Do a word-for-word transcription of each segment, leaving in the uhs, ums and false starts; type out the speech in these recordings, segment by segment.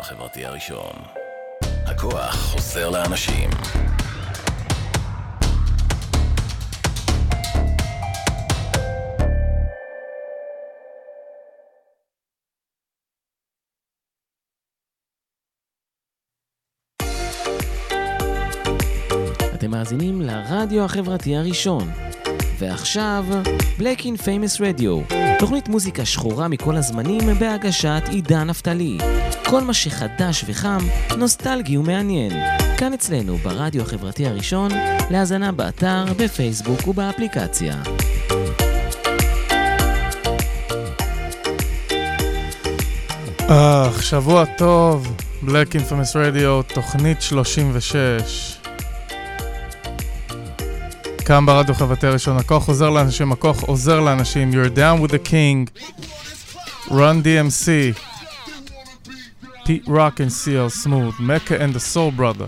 החברתי הראשון. הכוח חוזר לאנשים. אתם מאזינים לרדיו החברתי הראשון. ועכשיו, Black in Famous Radio, תוכנית מוזיקה שחורה מכל הזמנים בהגשת עידן נפתלי. כל מה שחדש וחם, נוסטלגי ומעניין. כאן אצלנו ברדיו החברתי הראשון, להאזנה באתר, בפייסבוק ובאפליקציה. אה, שבוע טוב, Black in Famous Radio, תוכנית שלושים ושש. כאן ברדיו החברתי הראשון, הכוח עוזר לאנשים, הכוח עוזר לאנשים. You're down with the king, Run D M C, Pete Rock and C L Smooth, Mecca and the Soul Brother.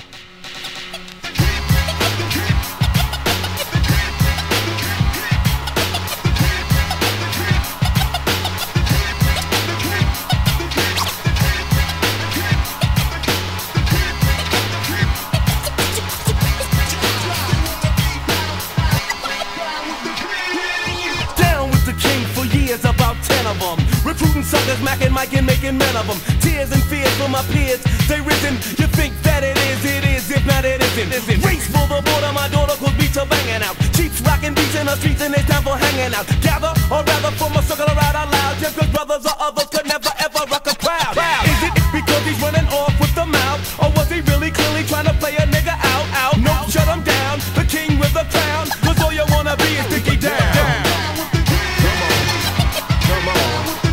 Suckers, macking, micing, making men of them. Tears and fears for my peers, they risen. You think that it is, it is, if not it isn't. isn't. Race for the border, my daughter could beats are banging out. Cheeks rocking beats in the streets and it's time for hanging out. Gather, or rather form a circle around out loud. Just cause brothers or others could never ever rock a crowd. Wow. Is it because he's running off with the mouth? Or was he really clearly trying to play a nigga out, out? No, shut him down, the king with the crown. Cause all you wanna be is Dickie down. down. Come on, come on.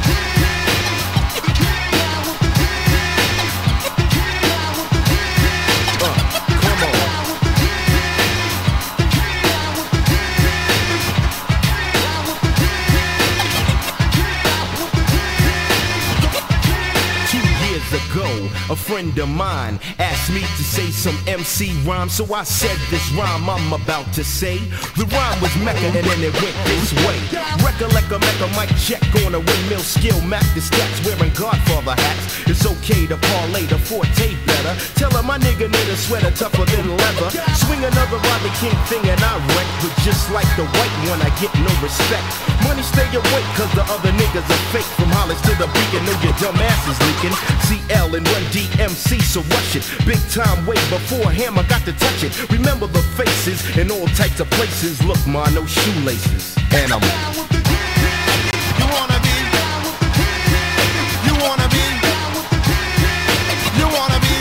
A friend of mine asked me to say some M C rhyme, so I said this rhyme I'm about to say. The rhyme was Mecca and then it went this way. Recollect a Mecca mic check on a windmill skill. Mac the stats wearing Godfather hats. It's okay to parlay the forte better. Tell her my nigga need a sweater tougher than leather. Swing another Rodney King thing and I wreck. But just like the white one I get no respect. Money stay awake cause the other niggas are fake. From Hollis to the Beacon, know your dumb ass is leaking. C L and Run D M C, so rush it. Big time way before him, I got to touch it. Remember the faces in all types of places. Look, ma, no shoelaces. And I'm You wanna be You wanna be You wanna be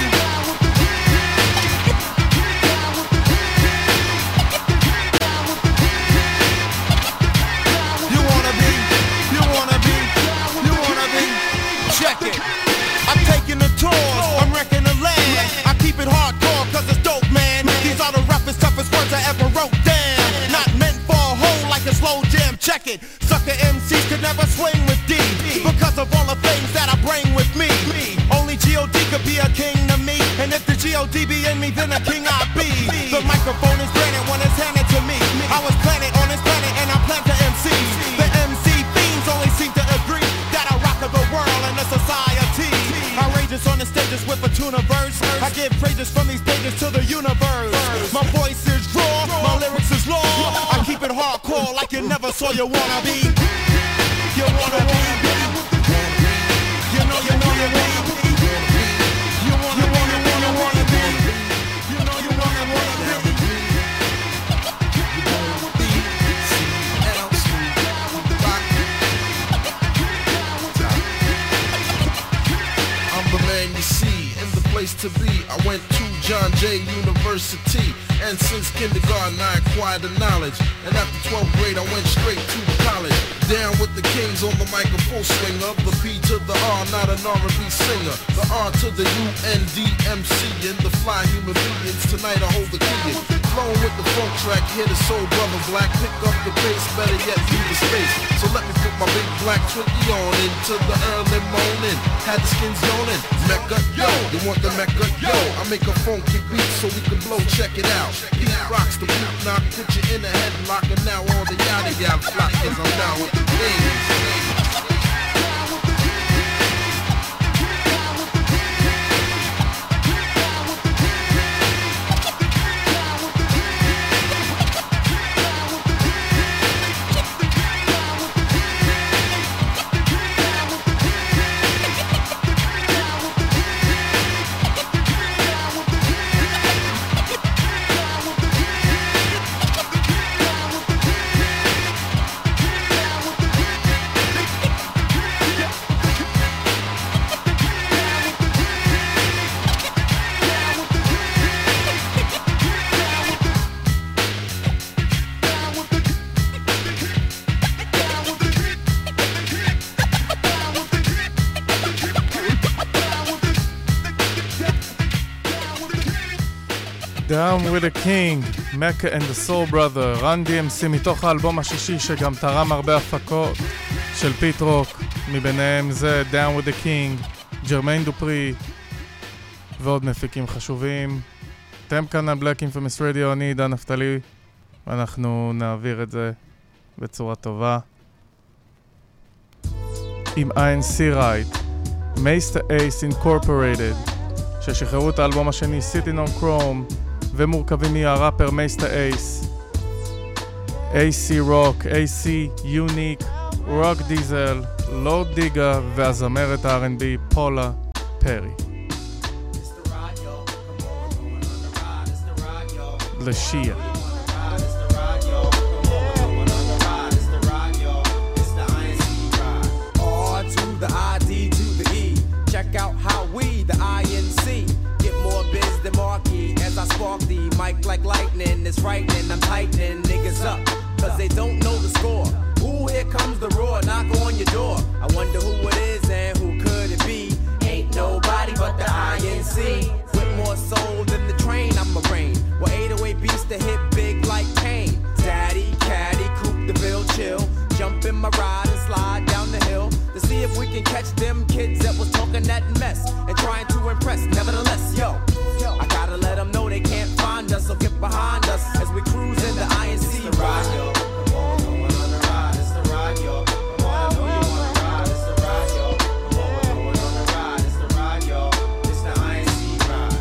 You wanna be You wanna be You wanna be Check it. I'm taking a tour, I'm wrecking the land. I keep it hardcore cause it's dope, man. These are the roughest, toughest words I ever wrote down. Not meant for a hole like a slow jam, check it. Sucker M Cs could never swing with D because of all the things that I bring with me. Only G O D could be a king to me. And if the G O D be in me, then a king I be. The microphone is granted when it's handed to me. I was planted on this planet and I plant the M Cs. The M C fiends only seem to agree that I rock the world and the society. Outrageous on the stages with a tuna verse. I give praises from these pages to the universe. My voice is raw, my lyrics is law. I keep it hardcore like you never saw you wanna be. You wanna be. You know you know you wanna be. You wanna wanna wanna wanna be. You know you wanna wanna be. I'm the man you see in the place to be. I went to John Jay University, and since kindergarten I acquired the knowledge. And after twelfth grade I went straight to college. Down with the kings on the mic, a full swinger. The P to the R, not an R and B singer. The R to the U N D M C and the fly human beings. Tonight I hold the key. Flowing with the funk track, hit a soul brother black. Pick up the pace, better yet leave the space. So let me put my big black twenty on into the early morning. Had the skins yawning. Mecca, yo, you want the Mecca, yo? I make a funky beat so we can blow, check it out. Pete rocks the boot knock, put you in a headlock, and now all the yada yada flock is I'm down with the things. Down with the King, Mecca and the Soul Brother, Run די אם סי מתוך האלבום השישי שגם תרם הרבה הפקות של פיט רוק, מביניהם זה Down with the King, ג'רמיין דופרי ועוד מפיקים חשובים. אתם כאן על Black Infamous Radio, אני עידן נפתלי, ואנחנו נעביר את זה בצורה טובה עם איי אן סי Right, Mesta Ace Incorporated, ששחררו את האלבום השני Sitting on Chrome, ומורכבים מהראפר Mesta Ace, איי סי Rock, איי סי Unique, Rock Diesel, Lord Digga והזמרת ה-אר אנד בי פולה פרי. לשיה. Check out how we, the I N C, get more biz than Marquee. As I spark the mic like lightning, it's frightening. I'm tightening niggas up, cause they don't know the score. Ooh, here comes the roar, knock on your door. I wonder who it is and who could it be? Ain't nobody but the I N C. With more soul than the train, I'm a rain. Well, eight oh eight beats to hit big like Kane. Daddy, caddy, coupe the bill, chill. Jump in my ride and slide down the hill to see if we can catch them kids that was talking that mess and trying to impress. Nevertheless, yo, I gotta let them know they can't find us, so get behind us as we cruise in the I N C ride. Come on, no one on the ride, it's the ride, yo. Come on, I know you wanna ride, it's the ride, yo. Come on, no one on the ride, it's the ride, yo. It's the I N C ride.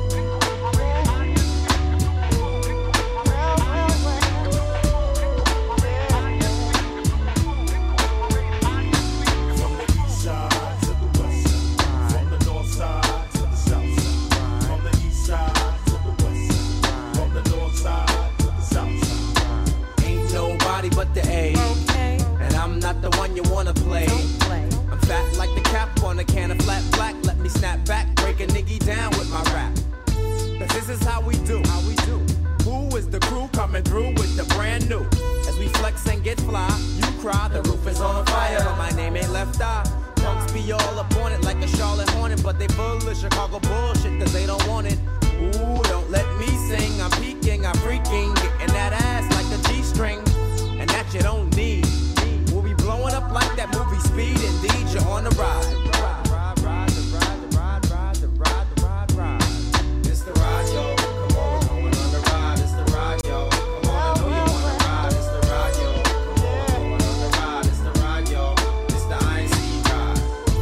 But the A, okay. And I'm not the one you wanna play. play. I'm fat like the cap on a can of flat black. Let me snap back, break a nigga down with my rap. Cause this is how we do, how we do. Who is the crew coming through with the brand new? As we flex and get fly, you cry, the roof is on fire, but my name ain't Left Eye. Punks be all up on it like a Charlotte Hornet, but they full of Chicago bullshit cause they don't want it. Ooh, don't let me sing, I'm peeking, I'm freaking, getting that ass like a G-string. And that you don't need. We'll be blowing up like that movie Speed. Indeed, you're on the ride. Ride, ride, ride, the ride, the ride, ride, the ride, the ride, ride. It's the ride, yo. Come on, no one on the ride. It's the ride, yo. Come on, I know you wanna ride. It's the ride, yo. Come on, no one on the ride. It's the ride, yo. It's the I N C ride.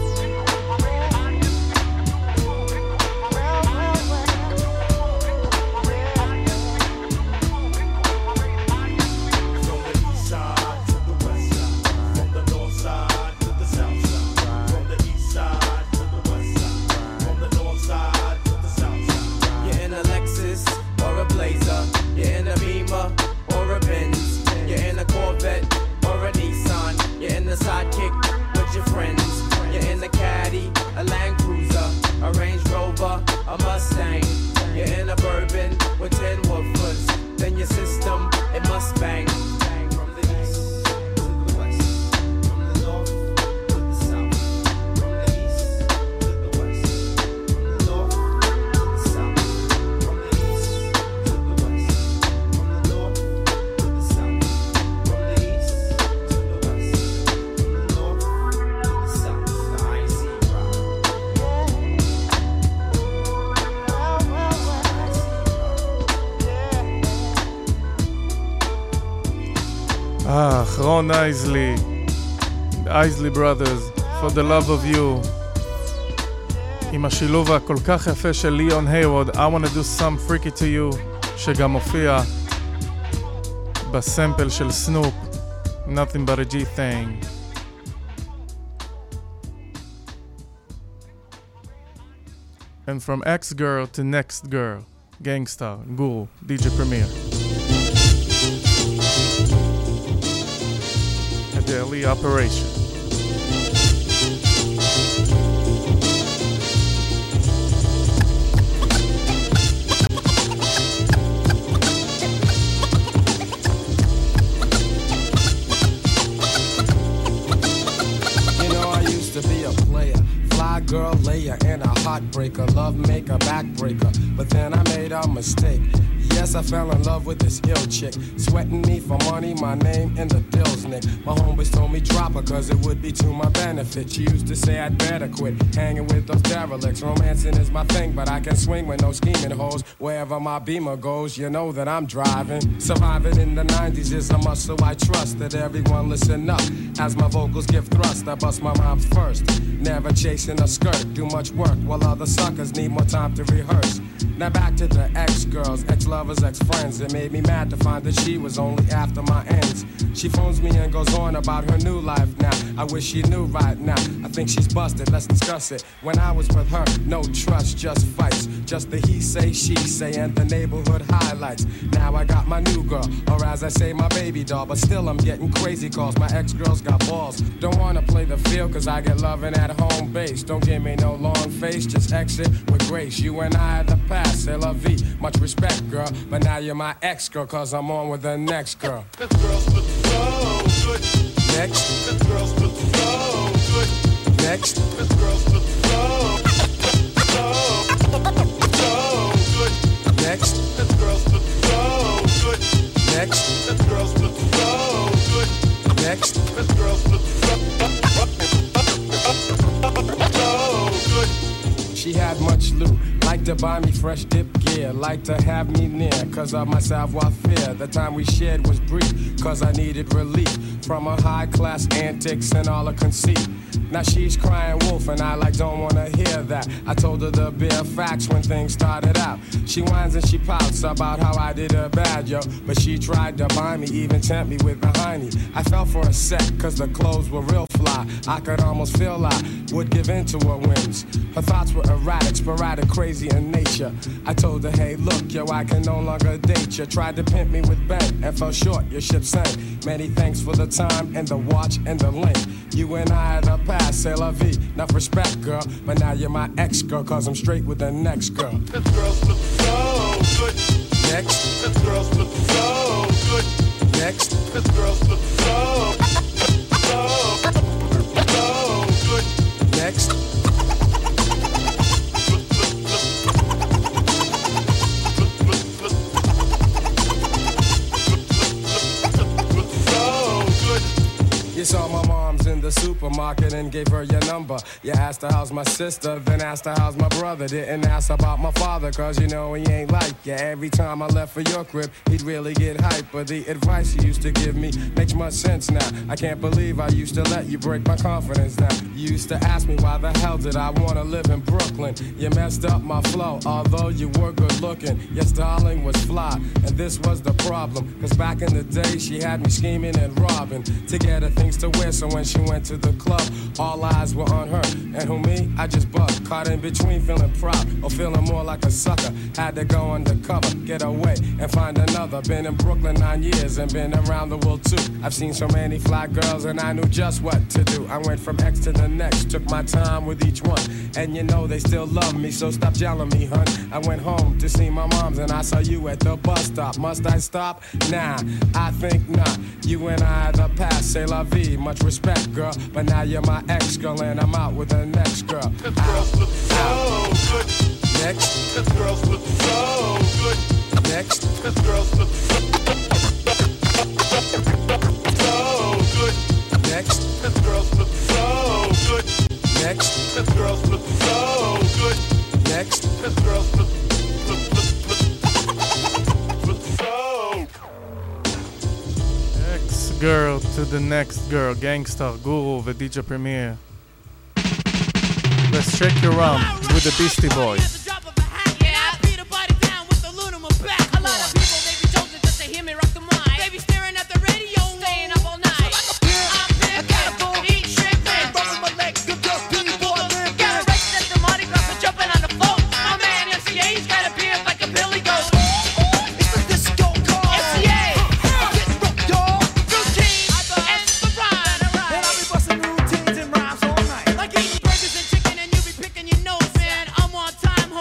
Sidekick with your friends. You're in a caddy, a Land Cruiser, a Range Rover, a Mustang. You're in a Bourbon with ten woofers. Then your system, it must bang. From the east to the west, from the north to the south, from the east to the west, from the north to the south, from the east to the west, from the north to the south, from the east to the west. אה, אחרון אייזלי, אייזלי Brothers, For the Love of You, עם השילוב הכל כך יפה של ליאון היווד, I want to do some freaky to you, שגם מופיע בסמפל של סנופ, Nothing but a G thing. And from X-Girl to Next Girl, Gangstar, Guru, די ג'יי Premier. A daily operation. You know I used to be a player, fly girl layer and a heartbreaker, love maker, backbreaker. But then I made a mistake. Yes, I fell in love with this ill chick, sweating me for money, my name in the dills, Nick. My homeboys told me drop her cause it would be to my benefit. She used to say I'd better quit hanging with those derelicts. Romancing is my thing, but I can swing with no scheming hoes. Wherever my Beamer goes, you know that I'm driving. Surviving in the nineties is a must, so I trust that everyone listen up as my vocals give thrust. I bust my rhymes first, never chasing a skirt. Do much work while other suckers need more time to rehearse. Now back to the ex-girls, ex-lovers, ex-friends. It made me mad to find that she was only after my ends. She phones me and goes on about her new life now. I wish she knew right now. I think she's busted, let's discuss it. When I was with her, no trust, just fights. Just the he say, she say, and the neighborhood highlights. Now I got my new girl, or as I say, my baby doll. But still I'm getting crazy calls, my ex-girls got balls. Don't wanna play the field, cause I get loving at home base. Don't give me no long face, just exit with grace. You and I are the past. C'est la vie, much respect, girl. But now you're my ex-girl, cause I'm on with the next girl. This girl's so good. Next. This girl's so good. Next. This girl's so, so, so good. Next. This girl's so, so good. Next. This girl's so, so good. Next. This girl's so, so good. She had much loot. Like to buy me fresh dip gear, like to have me near, cause of my savoir-faire. The time we shared was brief, cause I needed relief from her high-class antics and all her conceit. Now she's crying wolf and I like don't wanna hear that. I told her the bare facts when things started out. She whines and she pouts about how I did her bad, yo. But she tried to buy me, even tempt me with the hiney. I fell for a sec, cause the clothes were real fly. I could almost feel I would give in to her whims. Her thoughts were erratic, sporadic, crazy in nature. I told her, hey, look, yo, I can no longer date you. Tried to pimp me with bank and fell short, your ship sank. Many thanks for the time and the watch and the link. You and I are the past, c'est la vie. Enough respect, girl, but now you're my ex-girl, cause I'm straight with the next girl. This girl's so, so good. Next. This girl's so, so good. Next. This girl's so, so, so, so good. Next. You saw my mom's in the supermarket and gave her your number. You asked her how's my sister, then asked her how's my brother. Didn't ask about my father, cause you know he ain't like you. Every time I left for your crib, he'd really get hype. But the advice you used to give me makes much sense now. I can't believe I used to let you break my confidence down. You used to ask me why the hell did I wanna live in Brooklyn. You messed up my flow, although you were good looking. Your styling was fly, and this was the problem. Cause back in the day, she had me scheming and robbing to get her things to wear, so when she went to the club, all eyes were on her. And who me? I just bugged, caught in between, feeling proud or feeling more like a sucker. Had to go undercover, get away and find another. Been in Brooklyn nine years and been around the world too. I've seen so many fly girls and I knew just what to do. I went from X to the next, took my time with each one. And you know they still love me, so stop yelling me, hun. I went home to see my mom's and I saw you at the bus stop. Must I stop? Nah, I think not. You and I are the past, c'est la vie. Much respect, girl, but now you're my ex-girl and I'm out with the next girl. This girl's so, so good. Next. This girl's so, so good. Next. This girl's so, so good. Next. This girl's so, so good. Next. This girl's so, so good. Next. This girl's so, so, Ex-girl to the next girl, Gangstar, Guru ו-די ג'יי Premier. Let's shake your rump with the Beastie Boys. Time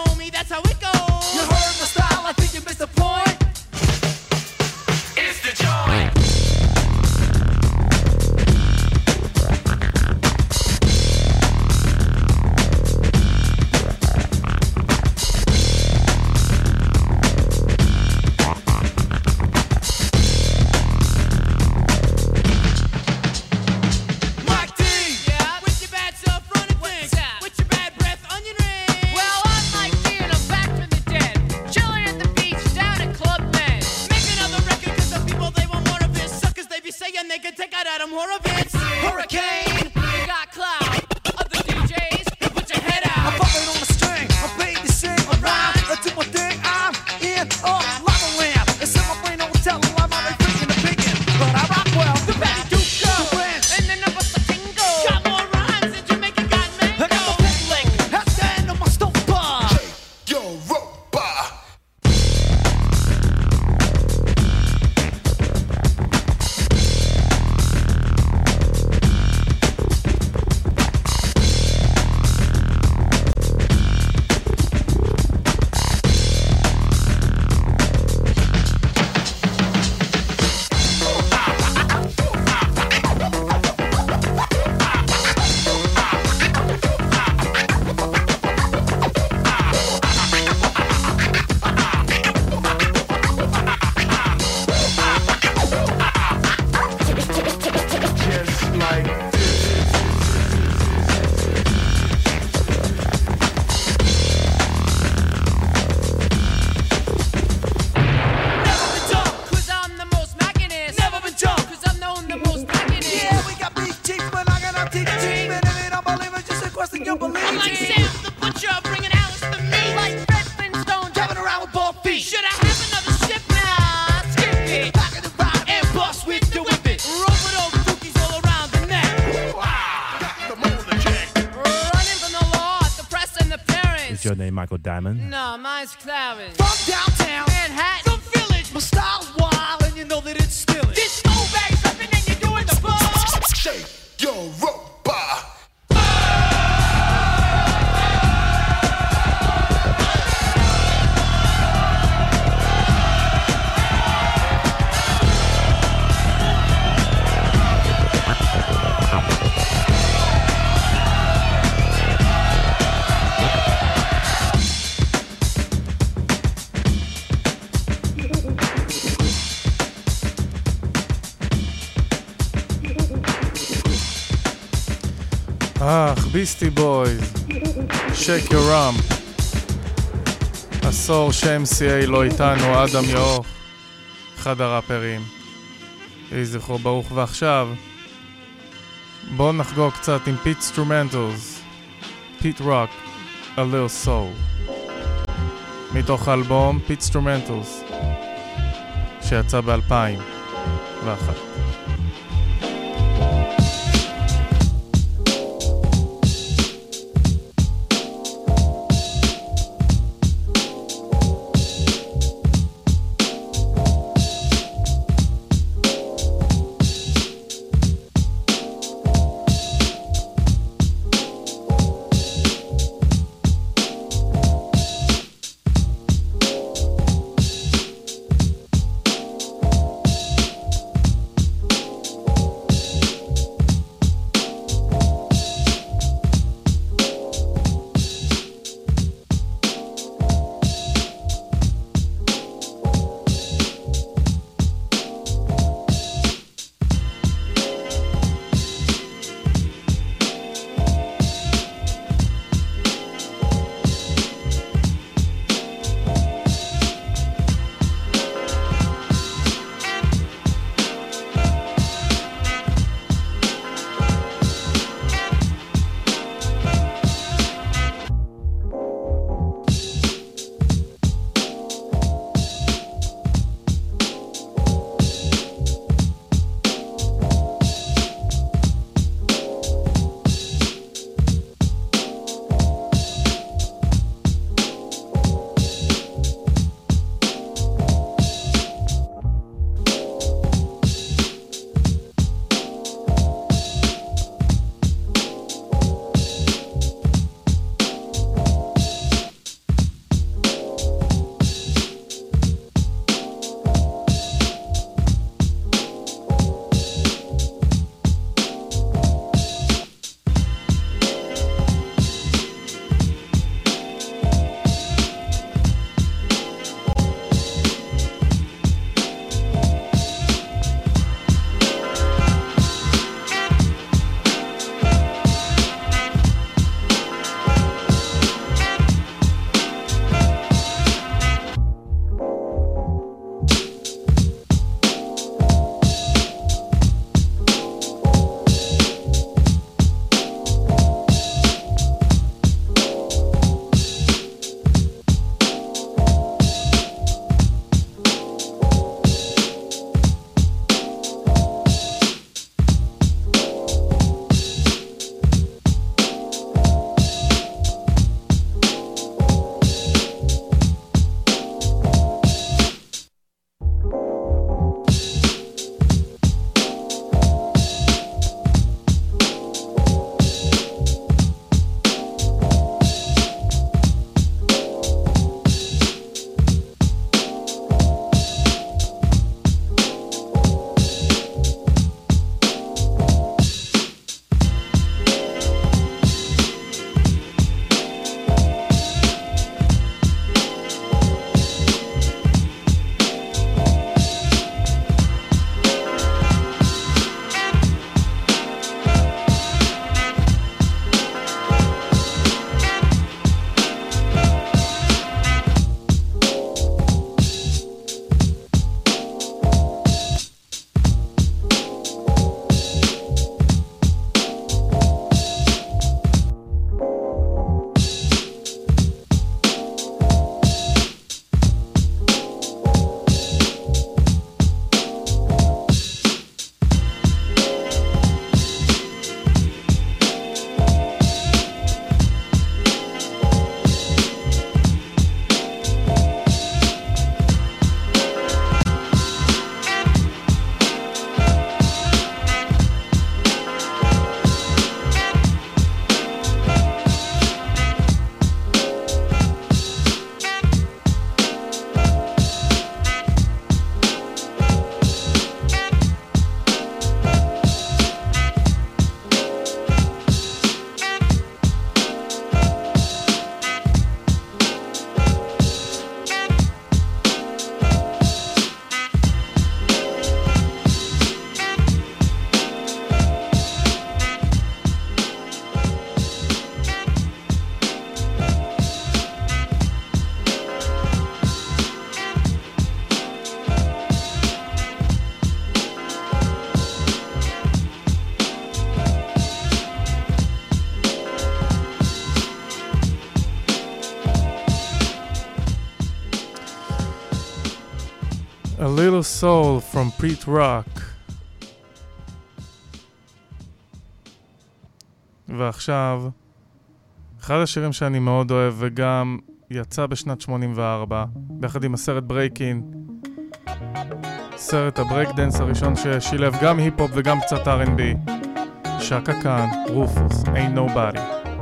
you believe I'm like it. Sam the Butcher, bringing Alice the meat. Like Fred Flintstone, driving around with bald feet. Should I have another ship now? Skip it. Back of the ride and bust with the whip it. Roll with old cookies all around the neck. Got the motor check. Running from the law, the press and the parents. Is your name Michael Diamond? No, mine's Clarence. From downtown Manhattan. the village. My style's wild and you know that it's still it. Disco bass upping and you're doing the ball. Shake your robot. אך, ביסטי בויז, שייק יור ראם. עשור ש-אם סי איי לא איתנו, אדם יאוך, אחד הראפרים. יהי זכרו ברוך. ועכשיו, בואו נחגוג קצת עם פיט סטרומנטלס, פיט רוק, A Little Soul. מתוך האלבום פיט סטרומנטלס, שיצא ב-אלפיים ואחת. Little Soul from Pete Rock. ועכשיו, אחד השירים שאני מאוד אוהב וגם יצא בשנת שמונים וארבע, ביחד עם הסרט ברייקין, סרט הברייק דנס הראשון ששילב גם היפ-הופ וגם קצת אר אנד בי, שקה קאן, רופוס, Ain't Nobody.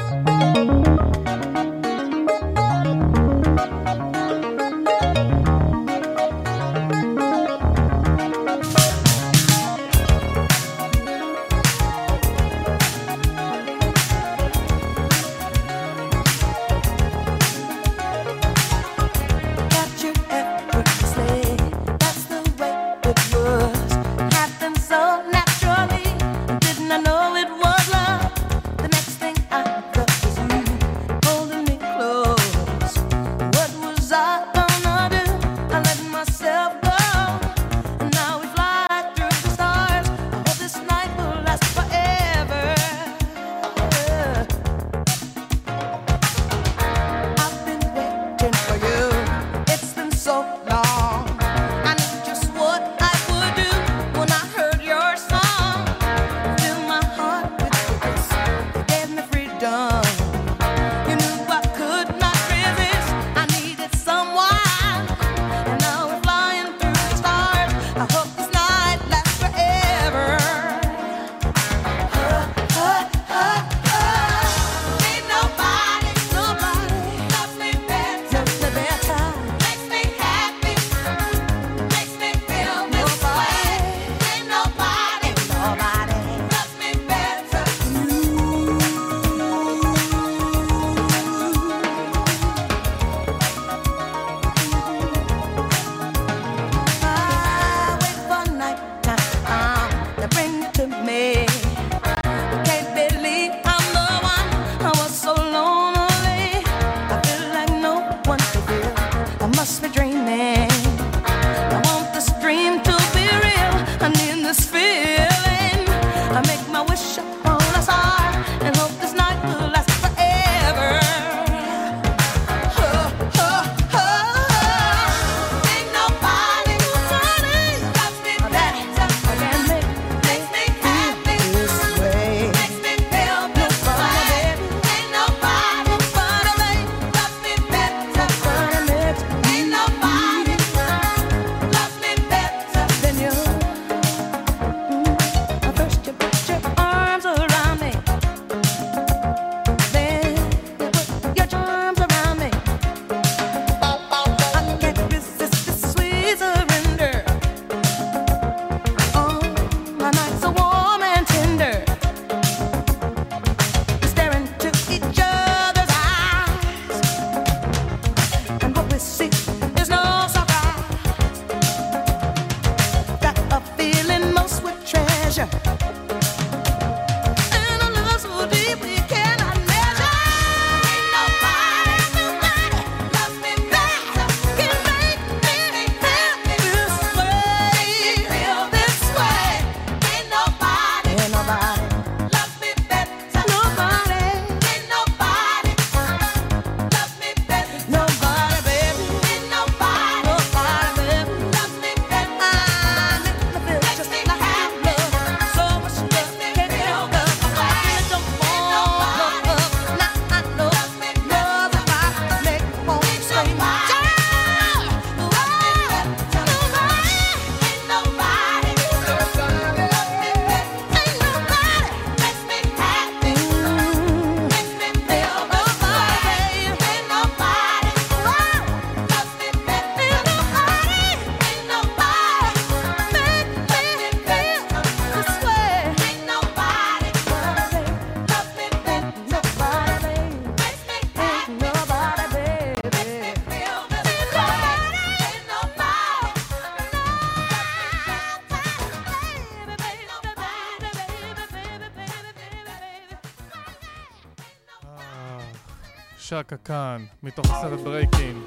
שקה קאן, מתוך הסרט ברייקין.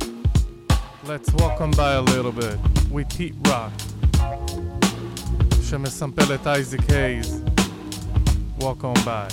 Let's walk on by a little bit with Pete Rock, שמסמפל את אייזיק הייז. Walk on by.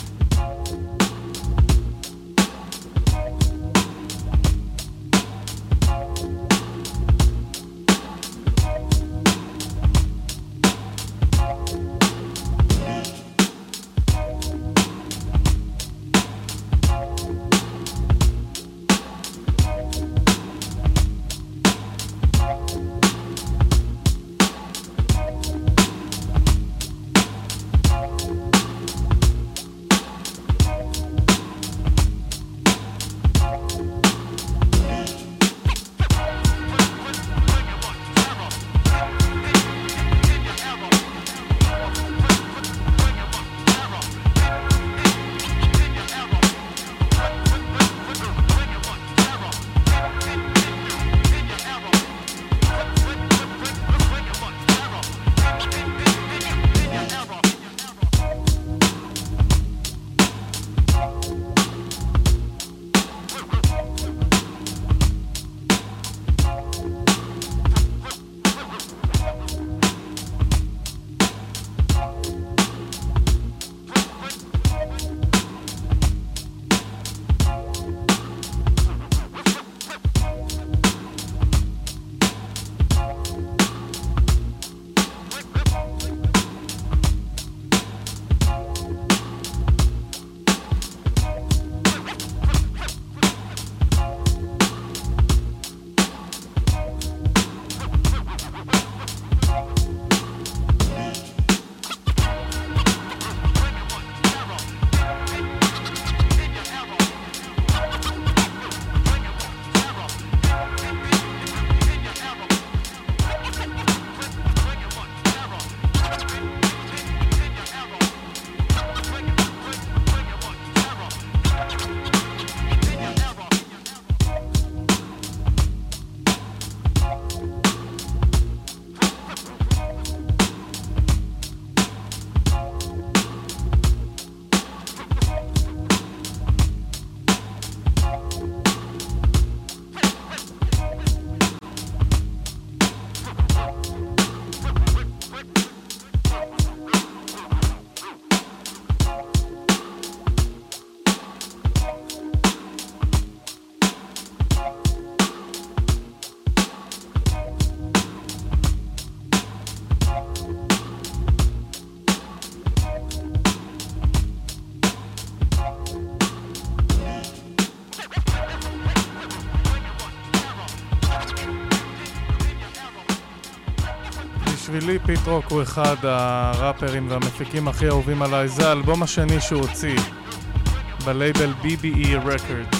בשבילי פיט רוק הוא אחד הראפרים והמפיקים הכי אהובים עליי. זה האלבום השני שהוא הוציא בלייבל בי בי אי Records,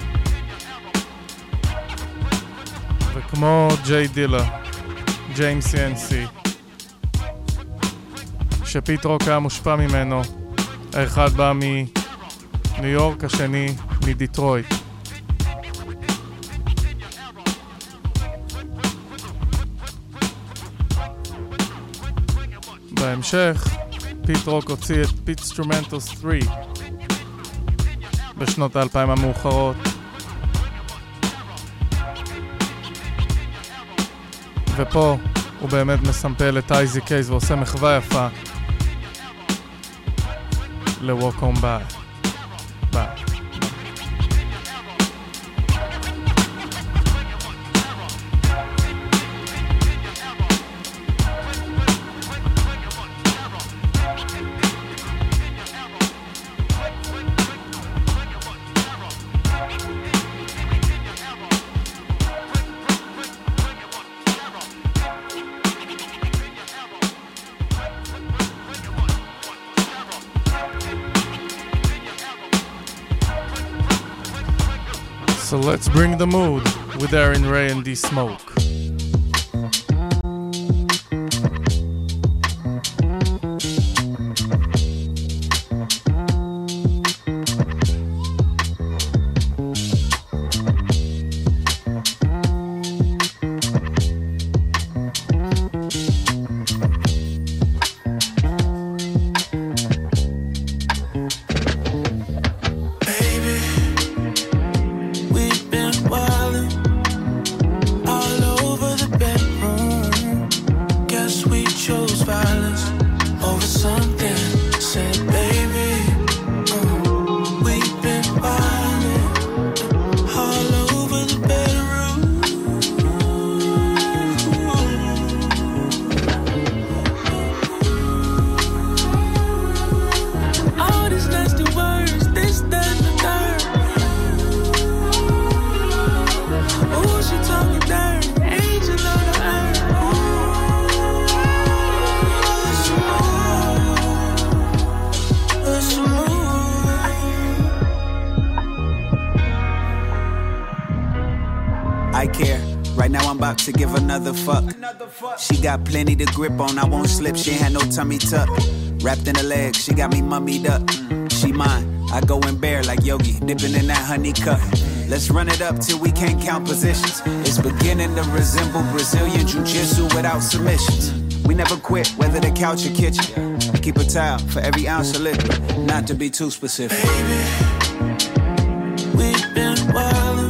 וכמו ג'יי דילה, ג'יימס סי אן סי, שפיט רוק היה מושפע ממנו. האחד בא מניו יורק, השני מדיטרויט. בהמשך פיט רוק הוציא את פיטסטרומנטוס שלוש בשנות האלפיים המאוחרות, ופה הוא באמת מסמפל את אייזי קייז ועושה מחווה יפה ל-Walk On By. ביי. So let's bring the mood with Aaron Ray and D-Smoke. To give another fuck. She got plenty to grip on, I won't slip, she ain't had no tummy tuck. Wrapped in her legs, she got me mummied up. She mine, I go in bare like Yogi, dipping in that honey cup. Let's run it up till we can't count positions. It's beginning to resemble Brazilian jiu-jitsu without submissions. We never quit, whether the couch or kitchen. Keep a towel for every ounce of liquid, not to be too specific. Baby, we've been wildin'.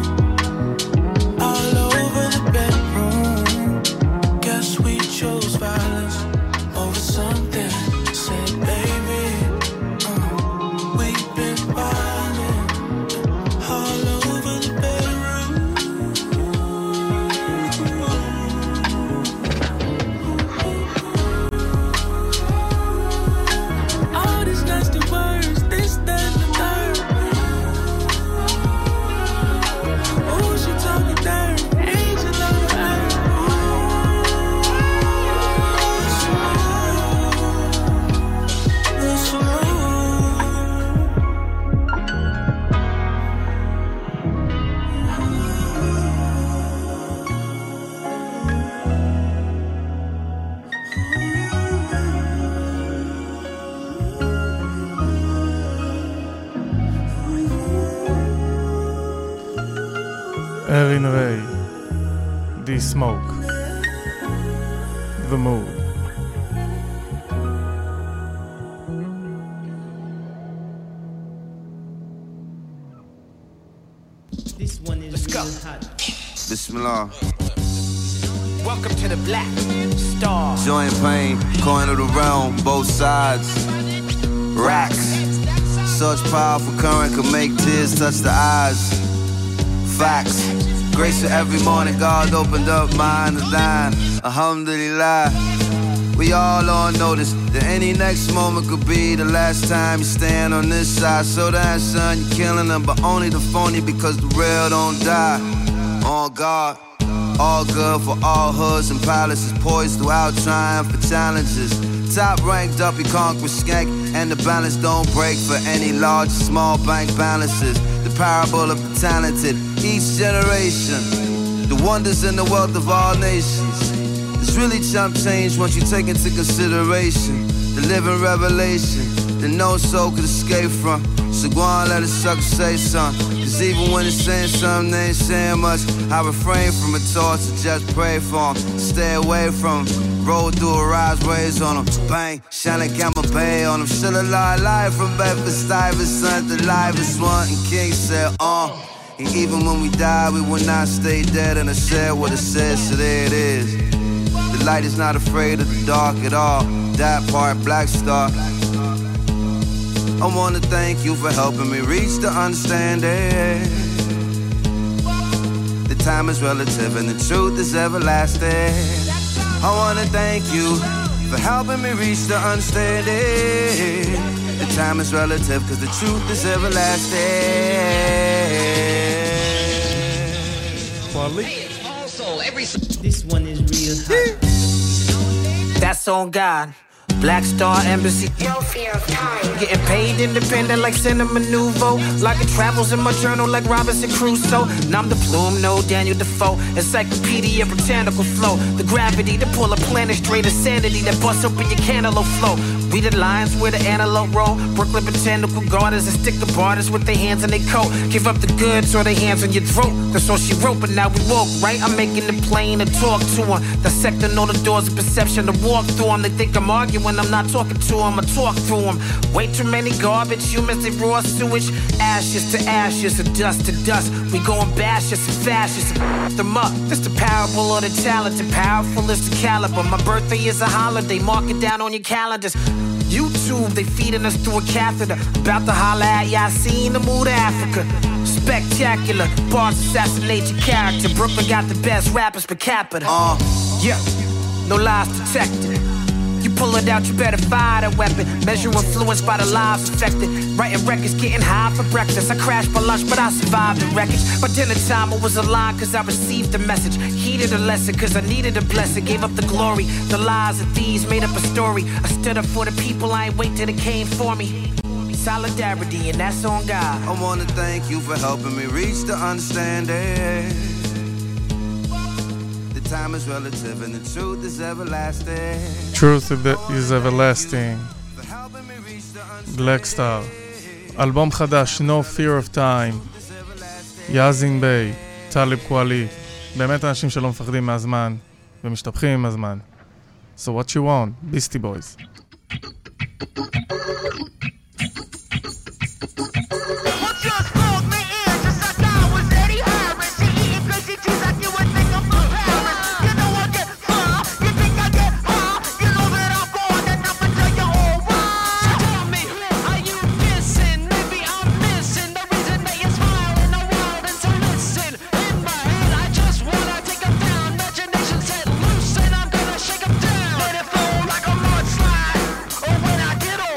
Aaron Ray, D-Smoke, The Mood. This one is Let's go. Hot. Bismillah. Welcome to the Black Star. Joint pain, coin of the realm, both sides. Racks. Such powerful current can make tears touch the eyes. Facts. Grace for every morning, God opened up mine to thine. Alhamdulillah. We all on notice that any next moment could be the last time you stand on this side. So that son, you're killing them, but only the phony because the real don't die. On God. All good for all hoods and palaces, poised throughout triumph for challenges. Top ranked up, you conquer skank, and the balance don't break for any large or small bank balances. The parable of the talented, each generation, the wonders and the wealth of all nations. It's really chump change once you take into consideration the living revelation that no soul could escape from. So go on, let a sucker say something. Cause even when it's saying something, they ain't saying much. I refrain from a toss to just pray for them. Stay away from them. Roll through a rise, raise on them. Bang, shining camera bay on them. Still alive, live from Bedford-Stuyvesant, the livest one. And King said, uh. And even when we die, we will not stay dead. And I said what it said, so there it is. The light is not afraid of the dark at all. That part, Black Star. I wanna thank you for helping me reach the understanding. The time is relative and the truth is everlasting. I wanna thank you for helping me reach the understanding. The time is relative cause the truth is everlasting. This one is real hot. That's on God. Black Star Embassy. No fear of time. Getting paid independent like Cinema Nouveau. Like it travels in my journal like Robinson Crusoe. Nom de plume, no Daniel Defoe. Encyclopedia, botanical flow. The gravity to pull a planet straight of sanity that busts open your cantaloupe flow. We the lions where the antelope roll. Brooklyn botanical gardens and stick the borders with their hands in their coat. Give up the goods or their hands on your throat. That's all she wrote, but now we woke, right? I'm making it plain to talk to them. Dissecting all the doors of perception to walk through them. They think I'm arguing when I'm not talking to them. I talk through them. Way too many garbage humans, they raw sewage. Ashes to ashes, and dust to dust. We going bashes and fascists and f*** them up. This the parable of the talented. Powerful is the caliber. My birthday is a holiday. Mark it down on your calendars. YouTube, they feeding us through a catheter. About to holler at ya, I seen the mood of Africa. Spectacular, bars assassinate your character. Brooklyn got the best rappers per capita. Uh. Yeah, no lies detected. You pull it out, you better fire that weapon. Measure influence by the lives affected. Writing records, getting high for breakfast. I crashed for lunch, but I survived the wreckage. By dinner time, I was aligned cause I received the message. Heeded a lesson cause I needed a blessing. Gave up the glory, the lies of thieves made up a story. I stood up for the people, I ain't wait till they came for me. Solidarity, and that's on God. I wanna thank you for helping me reach the understanding. Time is relative and the truth is everlasting. Truth is everlasting. Black Star. אלבום חדש, No Fear of Time. יאזין ביי, טליב קואלי. באמת אנשים שלא מפחדים מהזמן ומשתפכים עם הזמן. So what you want? Beastie Boys. Get on.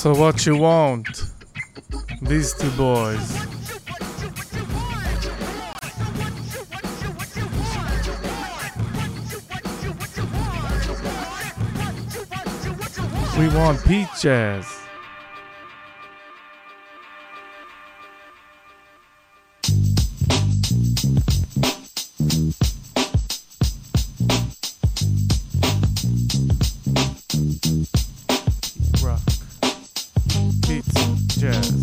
So what you want? These two boys. We want peaches. Rock, beats, jazz.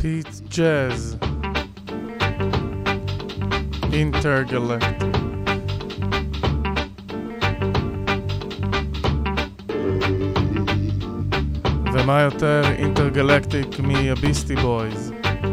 Pete Jazz, Intergalactic. ומה יותר אינטרגלקטיק מהביסטי בויז?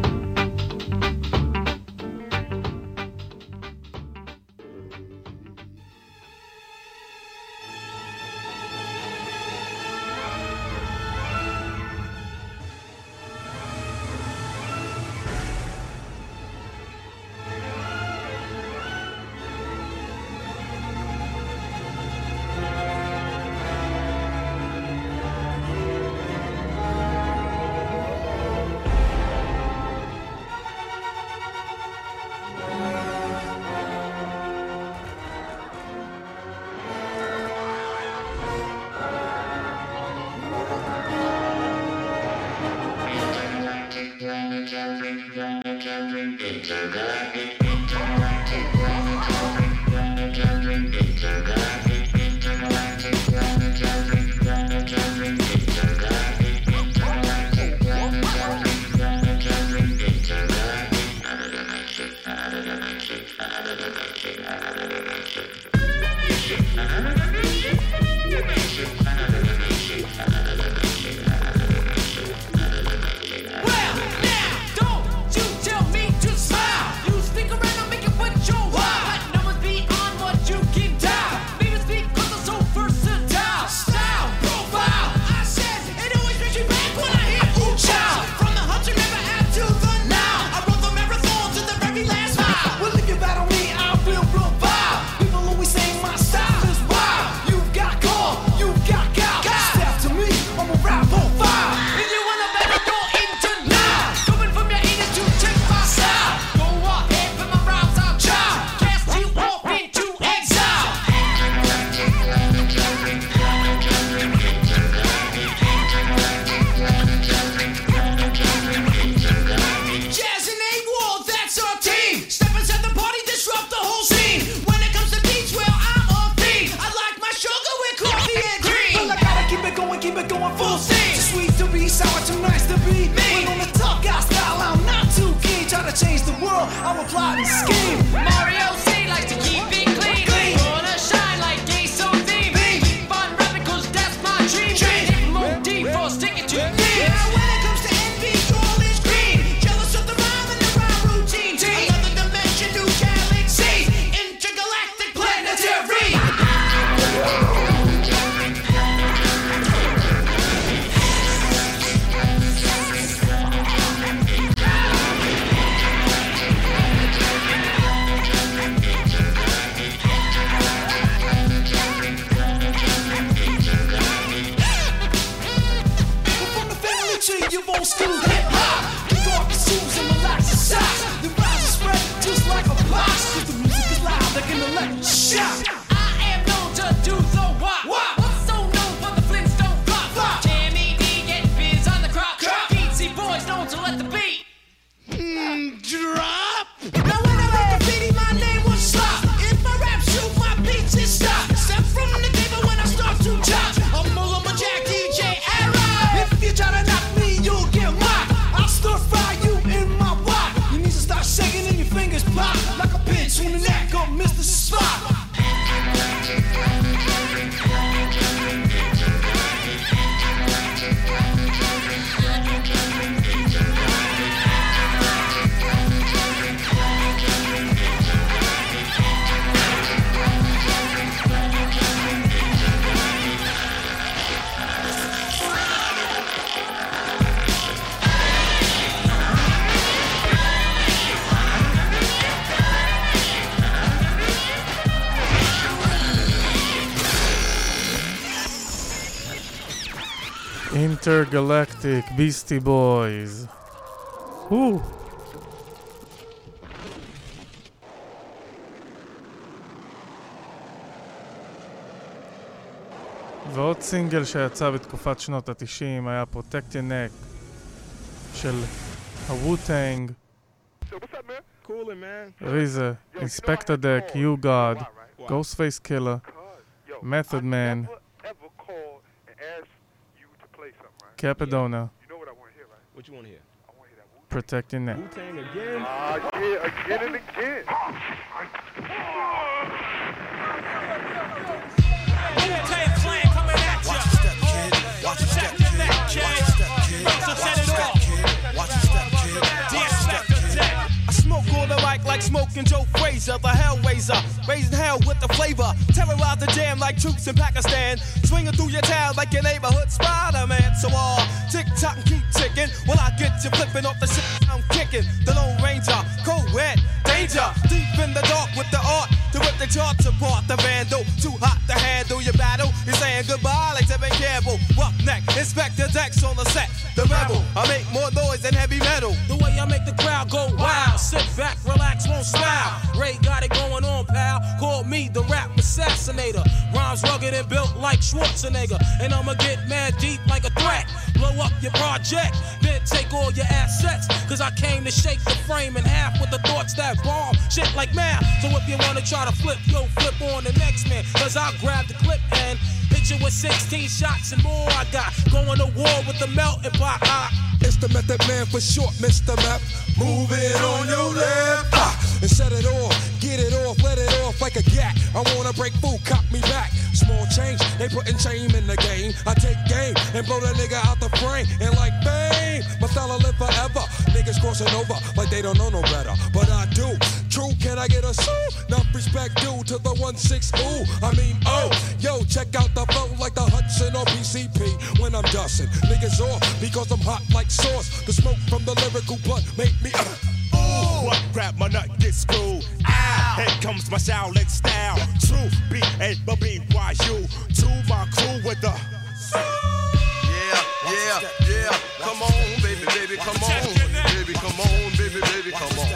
Intergalactic Beastie Boys. Woo. ועוד סינגל שיצא בתקופת שנות ה-תשעים היה Protect Your Neck של הווטנג, ריזה, Inspector Deck, You God, Ghostface Killer, Method Man, Capadona. You know what I want to hear, right? What you want to hear? I want to hear that Protect your neck. Ah, yeah, again and again. Wu-Tang Clan coming at ya. Watch your step, kid. Watch your step, kid. Watch your step, kid. Watch your step, kid. I smoke all the mic like smoking Joe Frazier, the Hellraiser, raising hell with the flavor. Terrorize the jam like troops in Pakistan, swinging through your town like your neighborhood Spider-Man. So all uh, tick tock and keep ticking. When I get you flipping off the shit I'm kicking, the Lone Ranger, co-ed, danger, deep in the dark with the art to rip the charts apart. The vandal, too hot to handle your battle. You're saying goodbye like Tevin Campbell. Roughneck, Inspector Dex on the set. The rebel, I make more noise than heavy metal. The way I make the crowd go wild. Sit back, relax, won't smile. Ray got it going on, pal. Call me the rap assassinator. Rhymes rugged and built like Schwarzenegger. And I'ma get mad deep like a threat. Blow up your project, then take all your assets. Cause I came to shake the frame in half with the thoughts that bomb shit like math. So if you wanna try to flip, yo, flip on the next man. Cause I'll grab the clip and hit you with sixteen shots and more. I got going to war with the melting pot. Ah. It's the Method Man for short, Mister Map. Move it on your left ah, and set it off, get it off, let it off like a gat. I wanna break food, cop me back. Small change, they putting shame in the game. I take game and blow that nigga out the frame. And like bang, my style will live forever. Niggas crossing over like they don't know no better, but I do. True, can I get a sue? Enough respect due to the one six ooh. I mean oh, yo, check out the flow like the Hudson or P C P. When I'm dusting, niggas off because I'm hot like sauce. The smoke from the lyrical blunt make me uh, ooh. What rap my nut get screwed? Ah, here comes my Shaolin style. True, B A B Y U. To my crew with the. Yeah, yeah, yeah. Come on, baby, baby, come on, baby, come on, baby, baby, come on.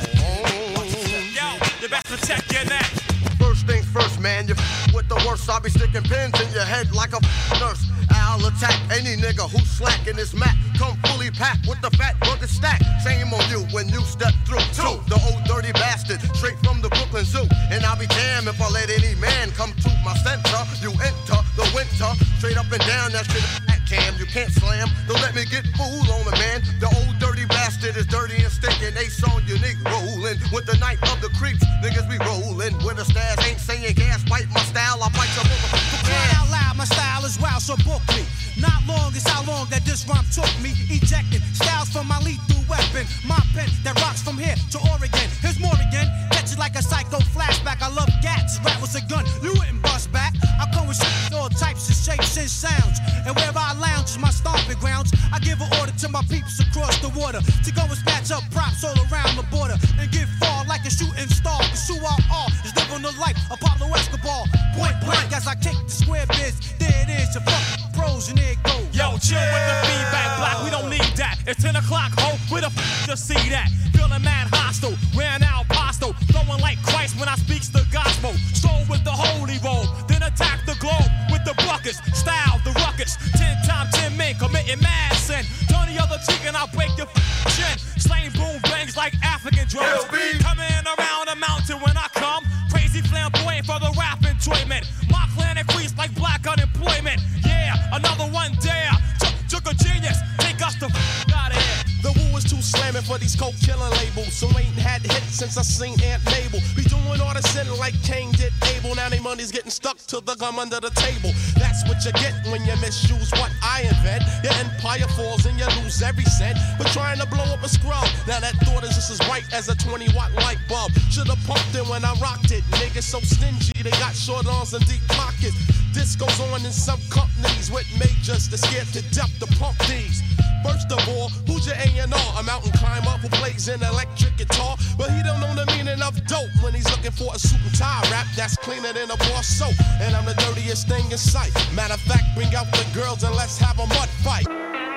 Yo, you best protect your neck. First things first, man, you f- with the worst. I'll be sticking pins in your head like a f- nurse. I'll attack any nigga who's slacking this mat. Come fully packed with the fat rugged stack. Shame on you when you step through. Two, the old dirty bastard, straight from the Brooklyn Zoo. And I'll be damned if I let any man come to my center. You enter the winter, straight up and down that shit. Cam, you can't slam. Don't let me get fooled on the man. The old dirty bastard is dirty and stinking. Ace on unique rolling with the night of the creeps. Niggas be rolling with the stairs. Ain't saying gas, bite my style. I bite your motherfucker. Cry out loud, my style is wild, so book me. Not long is how long that this rhyme took me. Ejecting styles from my lethal weapon. My pen that rocks from here to Oregon. Here's more again. Catch it like a psycho flashback. I love gats. Rap was a gun. You wouldn't bust back. I come with shit, all types of shapes and sounds. And where I lounge is my stomping grounds. I give an order to my peeps across the water to go and snatch up props all around the border and get far like a shooting star. Cause who I are is living the life of Pablo Escobar. Point blank as I kick the square biz. There it is, your fucking pros and there it goes. Yo, chill with the feedback block, we don't need that. It's ten o'clock, ho, where the f*** to see that? Feeling mad hostile, ran out pasto. Throwing like Christ when I speaks the gospel. Stroll with the holy roll, then attack the globe with the buckets. Style, the ruckus, ten times ten men committing mad sin. Turn the other cheek and I'll break your f*** chin. Slaying boom bangs like African drums. Coming around the mountain when I come. Crazy flamboyant for the rap enjoyment. My clan increased like black unemployment. Yeah, another one dare. Took a genius, take us the f*** out of here. The woo is too slamming for these coke killing labels. So ain't had hits since I seen Aunt Mabel. Be doing all the sin like Cain did Abel. Now they money's getting stuck to the gum under the table. That's what you get when you misuse what I invent. Your empire falls and you lose every cent. But trying to blow up a scrub. Now that thought is just as bright as a twenty watt light bulb. Should've pumped it when I rocked it. Niggas so stingy, they got short arms and deep pockets. This goes on in some companies with majors that scared to death to pump these. First of all, who's your A and R? A mountain climber who plays an electric guitar, but he don't know the meaning of dope when he's looking for a suit and tie rap that's cleaner than a bar soap. And I'm the dirtiest thing in sight. Matter of fact, bring out the girls and let's have a mud fight.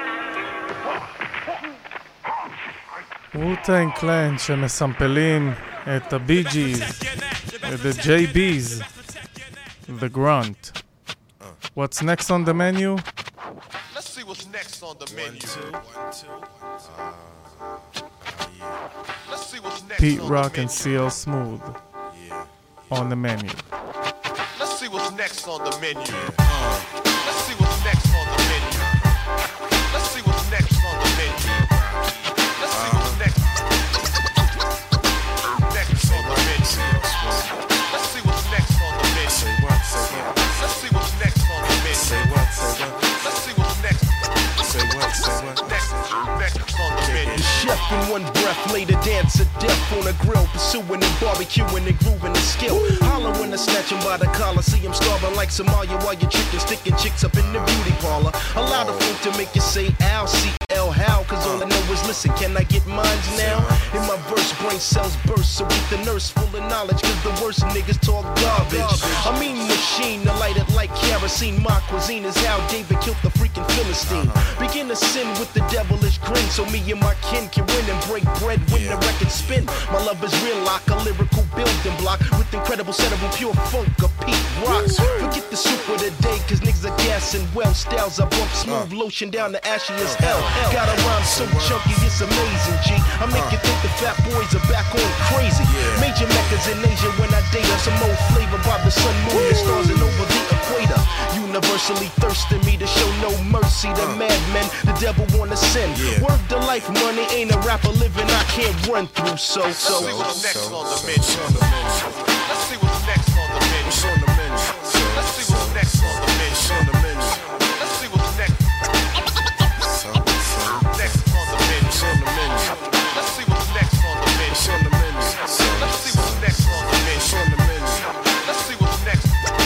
wu-Tang Clan שמסמפלים את הבי ג'יז, את ה-ג'יי ביז, The Grunt. What's next on the menu? Let's see what's next on the menu. One, two, one, two. Let's see what's next Pete on Rock the and C L Smooth on the menu. Let's see what's next on the menu. Let's see what's next on the menu. Let's see what's next on the menu. Let's see what's next breath, later dance to death on a grill, pursuing and barbecuing and grooving the skill. Holler when I snatch him by the collar, see him starving like Somalia while you're tricking, sticking chicks up in the beauty parlor. Allow the folk to make you say ow, C L how, cause all I know is listen, can I get mines now? In my verse, brain cells burst, so get the nurse full of knowledge, cause the worst niggas talk garbage. I mean machine, to light it like kerosene, my cuisine is how David killed the freaking Philistine. Begin to sin with the devilish grin, so me and my kin can win and break bread when the record spin. My love is real like a lyrical building block, with incredible setup of pure funk of Pete Rocks. Forget the soup of the day, cause niggas are gassing well. Styles I bump smooth, lotion down the ashy as hell. Got a rhyme so chunky, it's amazing, G. I make you think the fat boys are back on crazy. Major meccas in Asia when I date her. Some old flavor by the sun, moon, and stars and over the equator. Universally thirsting me to show no mercy to madmen the devil wanna send. Word to life, money ain't a rapper living I can't run through. So, so. Let's see what's next on the menu. Let's see what's next on the menu. Let's see what's next on the menu. Let's see what's next. Next on the menu. Let's see what's next on the menu. Let's see what's next on the menu. Let's see what's next.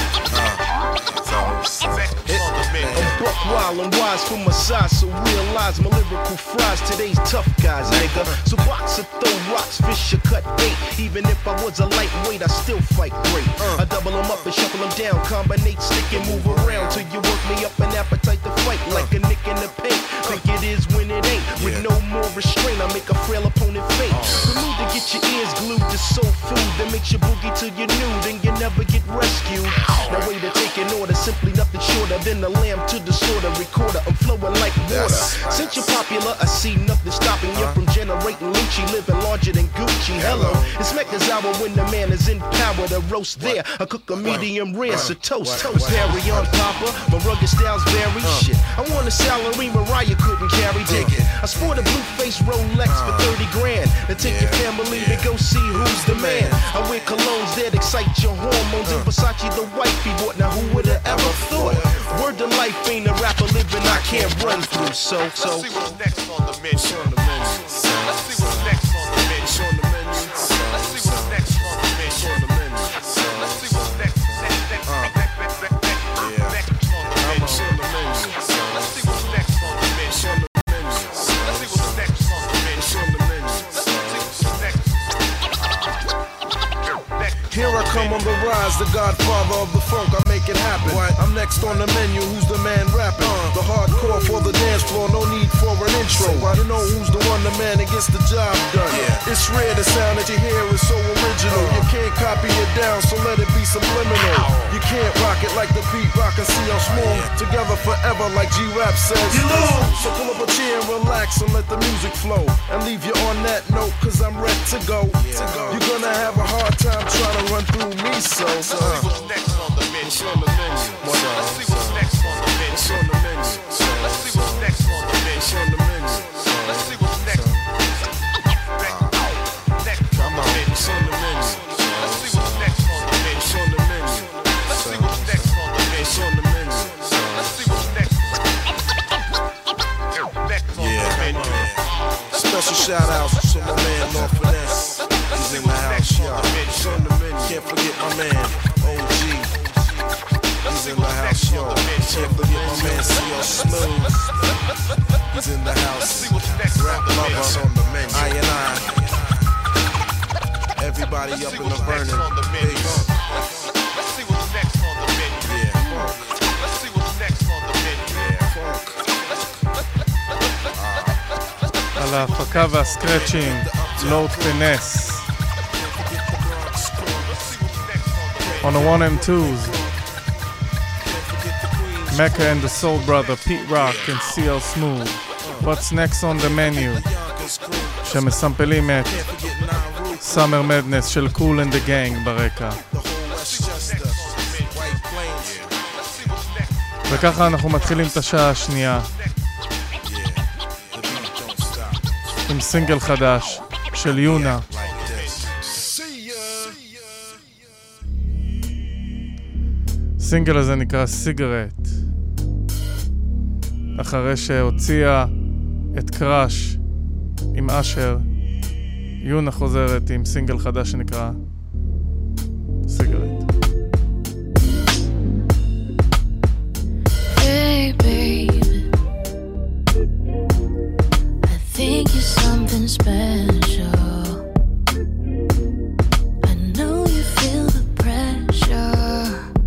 I'm buck wild and wise for my size, so realize my lyrical fries. Today's tough guys, nigga. So boxer throw rocks, fish or cut bait. Even if I was a lightweight, I still fight great. I double them up and shuffle them down, combinate, stick and move around till you work me up an appetite to fight like a nick in the paint. Think it is when it ain't. With no more restraint, I make a frail opponent faint. The mood to get your ears glued to soul food that makes you boogie till you're nude and you never get rescued. No way to take an order, simply nothing shorter than the lamb to the slaughter recorder. I'm flowing like water. Since you're popular, I see nothing stopping you from generating Lucci, living larger than Gucci. Hello, it's Mecca's hour when the man is in power. The roast there, I cook a medium rare, so toast, toast. Perry on Papa, my rugged styles vary. Shit, I want a salary Mariah couldn't carry. Dig it. I sport a blue face Rolex for thirty grand. Now take your family to go see who's the man. I wear colognes that excite your hormones. And Versace the wifey bought. Now who would have ever thought? Word to life ain't a rapper living I can't run through. So, so. Let's see what's next on the menu. Let's see what's next on the menu. Let's see what's next on the menu. Let's see what's next. Next, next, next, next, next, next on the menu. Let's see what's next on the menu. Let's see what's next on the menu. Let's see what's next. Here I come on the rise, the godfather of the funk, I make it happen. What? I'm next on the menu, who's the man rapping? Uh, the hardcore for the dance floor, no need for an intro. You know who's the one, the man that gets the job done. Yeah. It's rare, the sound that you hear is so original. Uh, you can't copy it down, so let it be subliminal. Ow. You can't rock it like the Pete Rock and C L Smooth. Yeah. Together forever like G-Rap says. You lose. So pull up a chair and relax and let the music flow. And leave you on that note, cause I'm ready to go. Yeah. to go. You're gonna have a hard time trying to run through me, so. Let's see what's next on the menu. What's on the menu? Let's see what's next on the menu. What's on the menu? Let's see what's next on the menu. What's on the menu? Let's see what's next. Next on the menu. What's on the menu? Let's see what's next on the menu. What's on the menu? Let's see what's next on the menu. What's on the menu? Let's see what's next. Next on the menu. Special shout outs to my man North Finesse. He's in the house, y'all. What's on the menu? Can't forget my man O G. He's in the house, y'all. Can't forget my man C L Smooth. He's in the house. Rap lover on the menu. I and I. Everybody up in the burning. Base. Let's see what's next on the menu. Yeah. Let's see what's next on the menu. על ההפקה והסקרצ'ים, לורד פינס. On the one and twos, Mecca and the Soul Brother, Pete Rock and C L Smooth. What's next on the menu? שמסמפלים את Summer Madness של Kool and the Gang ברקע. וככה אנחנו מתחילים את השעה השנייה עם סינגל חדש של יונה. הסינגל הזה נקרא סיגרט, אחרי שהוציאה את קראש עם אשר יונה חוזרת עם סינגל חדש שנקרא סיגרט. Hey baby, I think you're something special. I know you feel the pressure.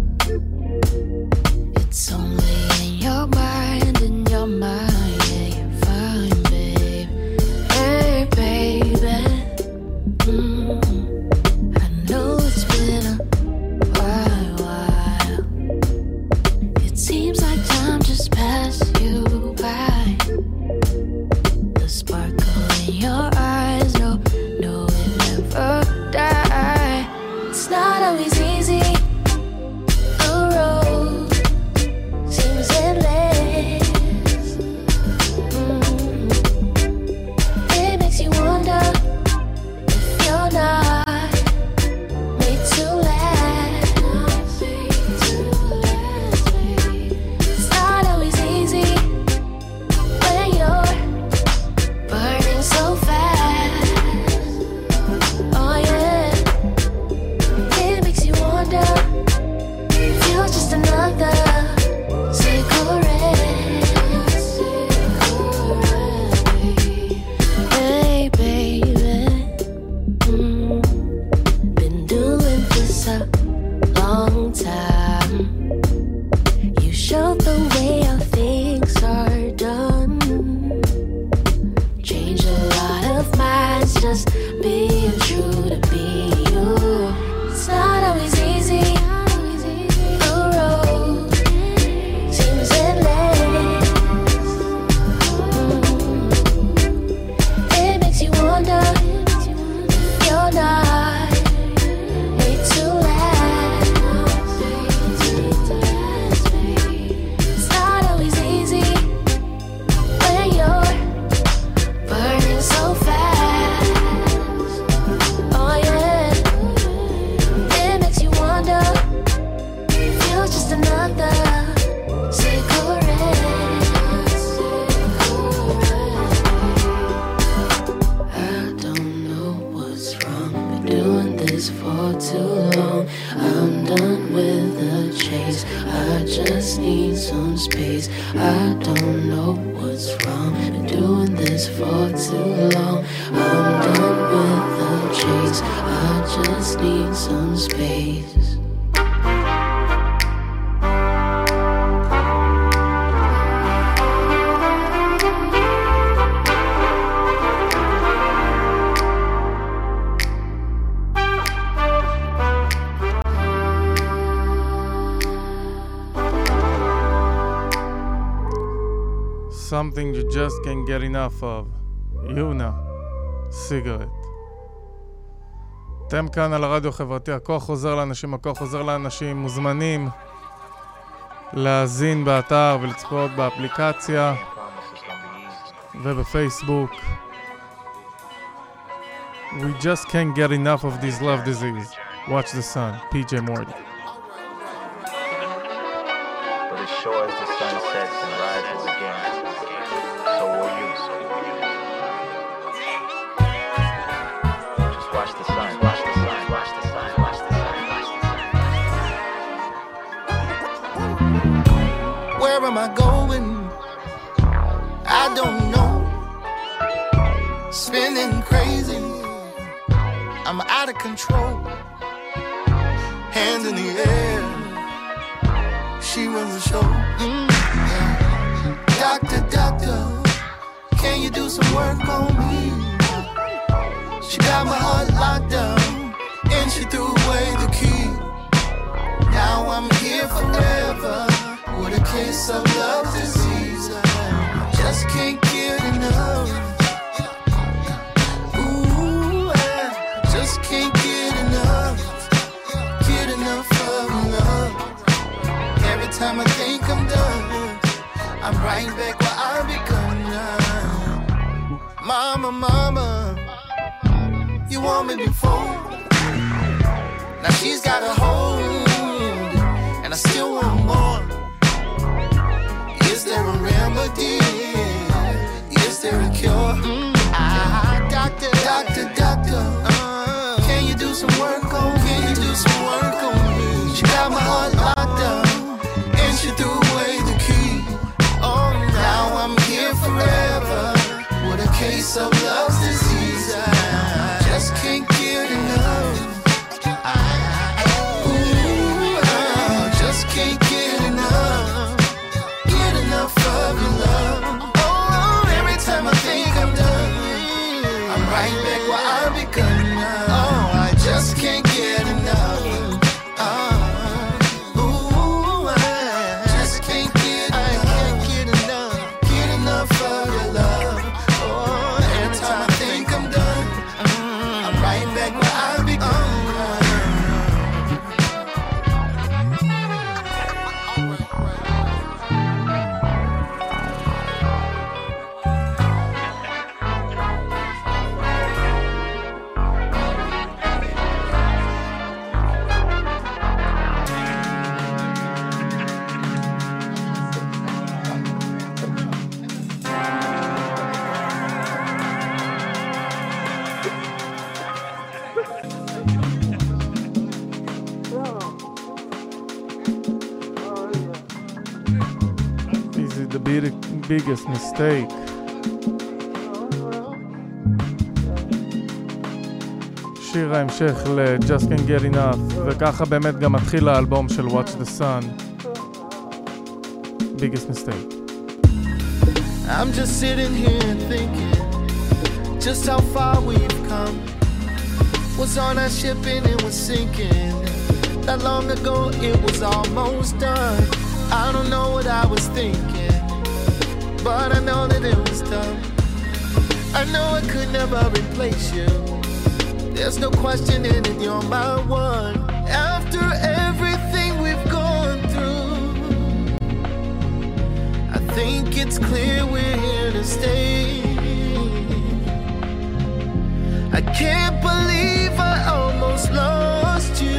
It's only in your mind, in your mind. Yeah, you're fine, babe. Hey baby, mm, I know it's been a while, while. It seems like time just passed you by. The sparkle in your eyes, no, no, it never die. It's not always easy. The road seems endless. Mm. It makes you wonder if you're not made to last. It's not always easy when you're burning so fast. Oh yeah, it makes you wonder if you're just another cigarette. Hey baby, mm, been doing this a long time. You showed the way how things are done. Changed a lot of minds just being true to be you. It's not always easy. The road seems endless. Mm. It makes you wonder if you're not made to last. It's not always easy when you're burning so fast. Oh yeah, it makes you wonder if you're just another cigarette. I don't know what's wrong, been doing this for too long. I'm done with the chase, I just need some space. I don't know what's wrong, been doing this for too long. I'm done with the chase, I just need some space. Something you just can't get enough of. יונה, סיגרט. אתם כאן על הרדיו החברתי, הכוח חוזר לאנשים, הכוח חוזר לאנשים, מוזמנים להאזין באתר ולצפות באפליקציה ובפייסבוק. We just can't get enough of this love disease. Watch the sun, P J Morty. But as sure as the sun sets and rises again, so will you. Just watch the sun, watch the sun, watch the sun, watch the sun, watch the sun. Where am I going? I don't know. Spinning crazy, I'm out of control. Hands in the air, she runs the show. Mm, yeah. Doctor, doctor, can you do some work on me? She got my heart locked down, and she threw away the key. Now I'm here forever, with a case of love disease. I just can't get enough. Just can't get enough, get enough of love. Every time I think I'm done, I'm right back where I begun now. Mama, mama, you want me before. Now she's got a hold, and I still want more. Is there a remedy? Is there a cure? Mm, ah, doctor, doctor, doctor, doctor. Uh, can you do some work on me? Can you do some work on me? She got my heart locked up, and she threw away the key. Oh, now I'm here forever with a case of love's disease. I just can't get enough. Ooh, I just can't get enough. Get enough of your love. Oh, every time I think I'm done, I'm right back where I begun now. Oh, I just can't get enough. Uh, ooh, I just can't get enough. I can't get enough. Get enough of your love. Oh, every time I think I'm done, I'm right back where I begun. Easy the big- biggest mistake. שיר ההמשך ל-Just Can't Get Enough, וככה באמת גם מתחיל האלבום של Watch the Sun. Biggest mistake. I'm just sitting here thinking just how far we've come. Was on our ship and it was sinking. That long ago it was almost done. I don't know what I was thinking, but I know that it was done. I know I could never replace you. There's no questioning it, you're my one. After everything we've gone through, I think it's clear we're here to stay. I can't believe I almost lost you.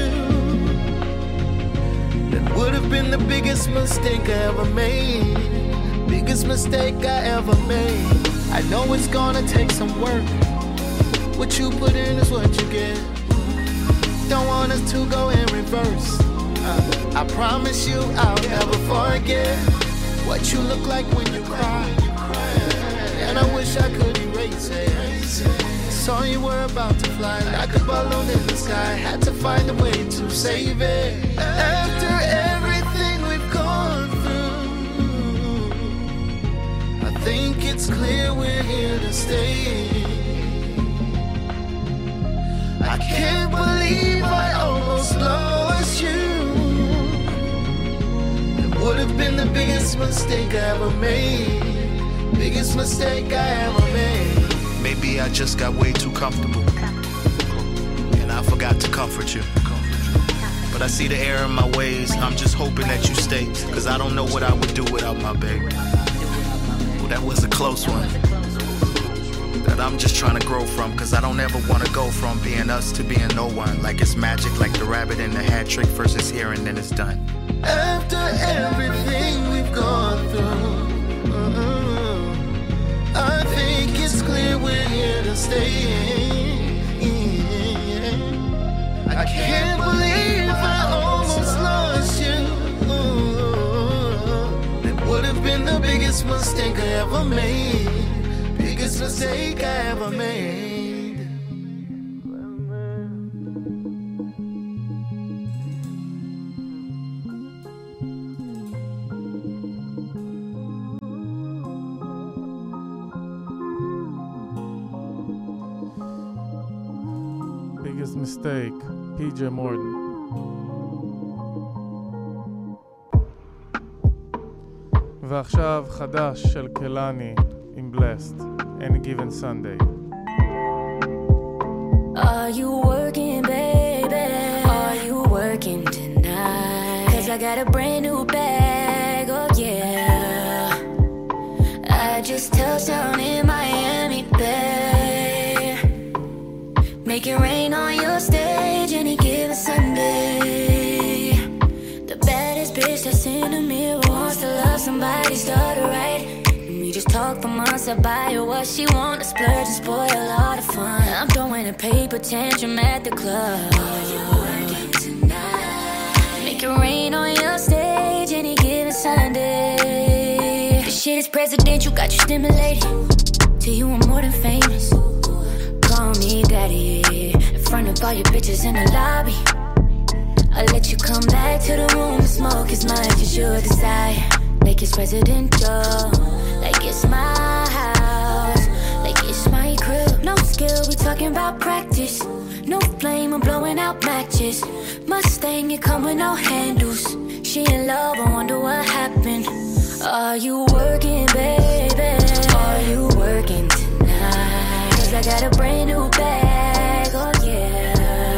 That would have been the biggest mistake I ever made. Biggest mistake I ever made. I know it's gonna take some work. What you put in is what you get. Don't want us to go in reverse. uh, I promise you I'll never forget what you look like when you cry. And I wish I could erase it. Saw you were about to fly like a balloon in the sky. Had to find a way to save it. After everything we've gone through, I think it's clear we're here to stay. I can't believe I almost lost you. It would have been the biggest mistake I ever made. Biggest mistake I ever made. Maybe I just got way too comfortable, and I forgot to comfort you. But I see the error in my ways. I'm just hoping that you stay, cause I don't know what I would do without my baby. Well, that was a close one that I'm just trying to grow from, cause I don't ever want to go from being us to being no one. Like it's magic, like the rabbit in the hat trick. First it's here and then it's done. After everything we've gone through, uh-uh, I think it's clear we're here to stay. I can't believe I almost lost you. It would have been the biggest mistake I ever made. Biggest mistake I ever made. Biggest mistake, P J Morton. ועכשיו חדש של קלני עם Blessed, Any Given Sunday. Are you working, baby? Are you working tonight? Cause I got a brand new bag, oh yeah. I just touched down in Miami, babe. Make it rain on your stage any given Sunday. The baddest bitch that's in the mirror wants to love somebody, start to right. We just talk couple months I buy her what she want, to splurge and spoil all the fun. I'm throwing a paper tantrum at the club. Are you working tonight? Make it rain on your stage any given Sunday. This shit is presidential, got you stimulated. Till you want more than famous. Call me daddy. In front of all your bitches in the lobby. I'll let you come back to the room and smoke as much as you desire. Like it's residential, like it's my house, like it's my crib. No skill, we talking about practice. No flame, I'm blowing out matches. Mustang, you come with no handles. She in love, I wonder what happened. Are you working, baby? Are you working tonight? Cause I got a brand new bag, oh yeah.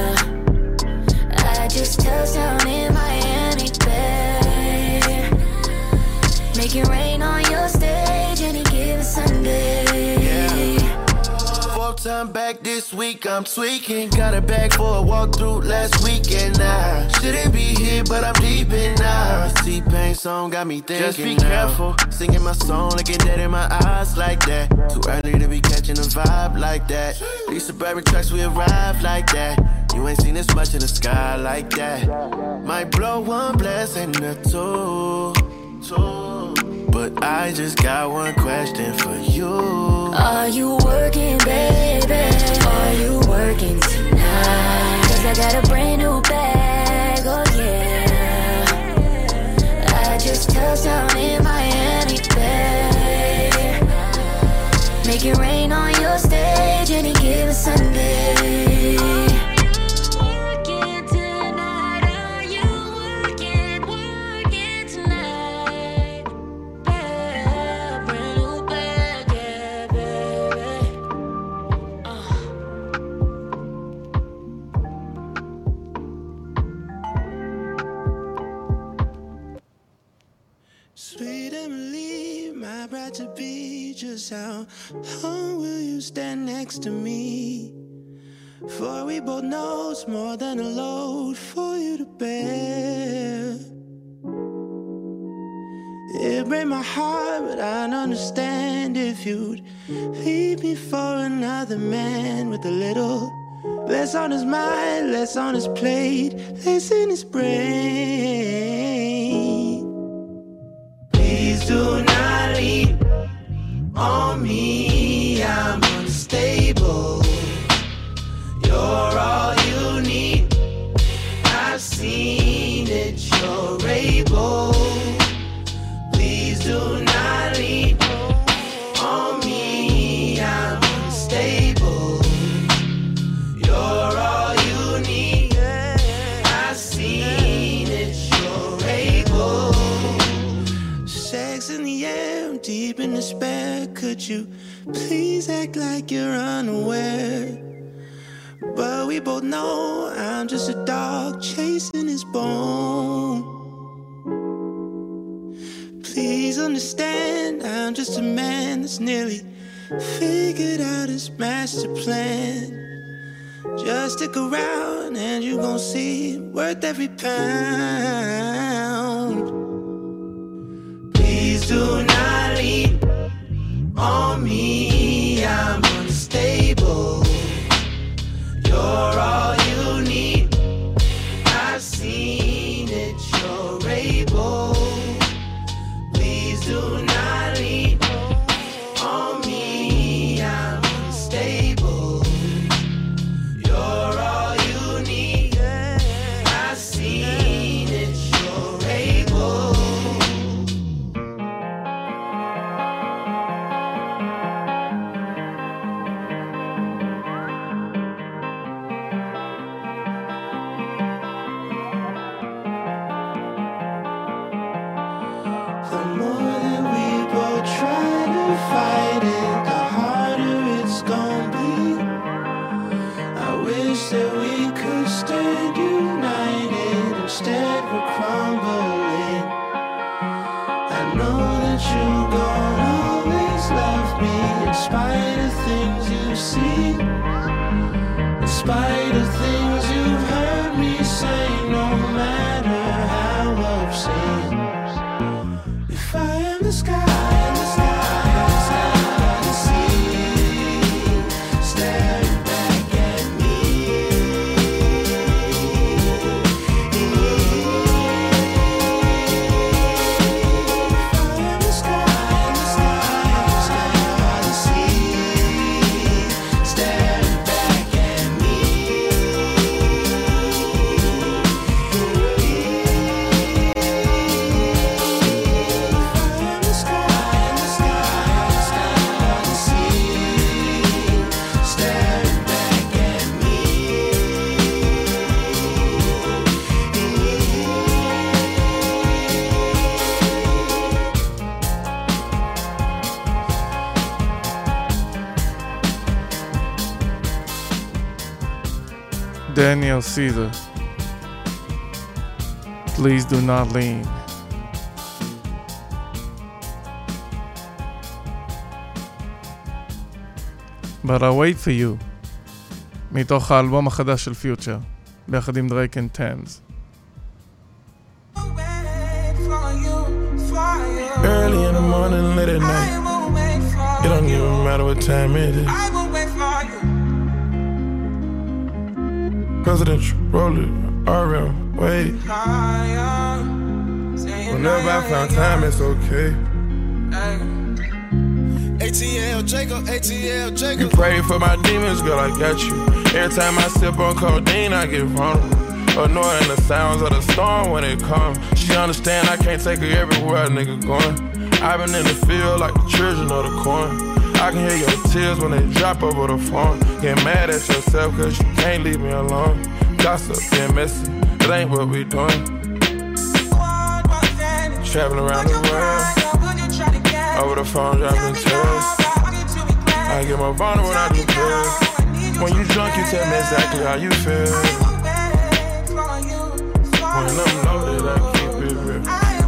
I just touched down in Miami, babe. Make it rain on your stage any given Sunday. Yeah. Fourth time back this week, I'm tweaking. Got a bag for a walkthrough last weekend. I shouldn't be here, but I'm deep in now. T-Pain song got me thinking. Just be now. Careful, singing my song, looking dead in my eyes like that. Too early to be catching a vibe like that. These suburban trucks, we arrive like that. You ain't seen this much in the sky like that. Might blow one blessing or two, two. But I just got one question for you. Are you working, baby? Are you working tonight? Cause I got a brand new bag, oh yeah. I just touched down in Miami, babe. Make it rain on your stage any given Sunday. To be just how long will you stand next to me? For we both know it's more than a load for you to bear. It breaks my heart, but I'd understand if you'd leave me for another man with a little less on his mind, less on his plate, less in his brain. Please do not leave on me, I'm unstable. You're all you need. I've seen it, you're able. Please do not leave on me, I'm unstable. You're all you need. I've seen it, you're able. Sex in the air, I'm deep in despair. Could you please act like you're unaware? But we both know I'm just a dog chasing his bone. Please understand, I'm just a man that's nearly figured out his master plan. Just stick around and you gon' see worth every pound. Please do not leave on me, I'm unstable. You're all you need. I've seen it, you're able. Please do not leave on me, I'm unstable. You're all you need. I've seen it, you're able. Daniel Caesar. Please do not lean. But I'll wait for you. מתוך האלבום החדש של פיוטר, ביחד עם דרייק אנד טמס. Early in the morning, late at night. It don't even matter what time it is. Presidential, roll it, R M, wait. Whenever I find time, it's okay. A T L Jacob, A T L Jacob. You pray for my demons, girl, I got you. Every time I sip on codeine, I get vulnerable. Annoying the sounds of the storm when it comes. She understand I can't take her everywhere a nigga going. I've been in the field like the children of the corn. I can hear your tears when they drop over the phone. Get mad at yourself cause you can't leave me alone. Gossip and messy, it ain't what we doing. Traveling around the world, over the phone dropping tears. I get more vulnerable when I do pills. When you drunk you tell me exactly how you feel. When I'm loaded I keep it real.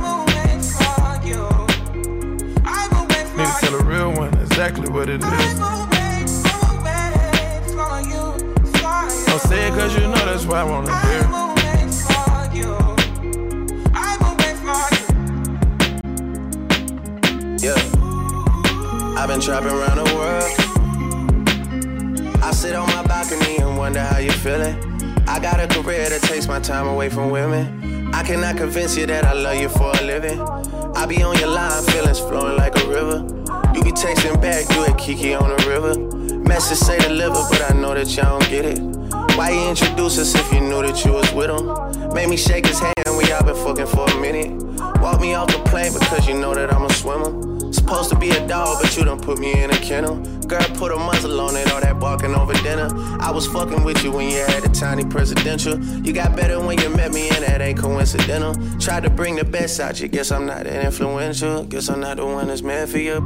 Need to tell a real one exactly what it is. Don't say it cause you know that's why I wanna hear. Yeah, I've been trapping around the world. I sit on my balcony and wonder how you feeling. I got a career that takes my time away from women. I cannot convince you that I love you for a living. I be on your line, feelings flowing like a river. You be texting back, you at Kiki on the river. Message say deliver, but I know that y'all don't get it. Why you introduce us if you knew that you was with him? Made me shake his hand, we all been fucking for a minute. Walk me off the plane because you know that I'm a swimmer. Supposed to be a dog, but you done put me in a kennel. Girl, put a muzzle on it, all that barking over dinner. I was fucking with you when you had a tiny presidential. You got better when you met me, and that ain't coincidental. Tried to bring the best out you, guess I'm not that influential. Guess I'm not the one that's meant for you.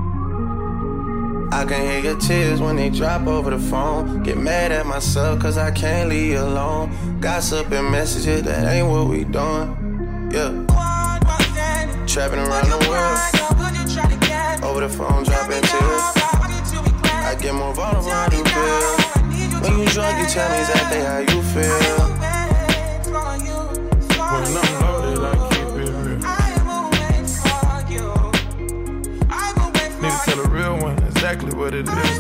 I can hear your tears when they drop over the phone. Get mad at myself cause I can't leave you alone. Gossip and messages, that ain't what we doing. Yeah. Trapping around the world. Over the phone, dropping tears. I get more vulnerable, I do feel. When you drunk, you tell me exactly how you feel. When I'm loaded, I keep it real. Need to tell a real one exactly what it is.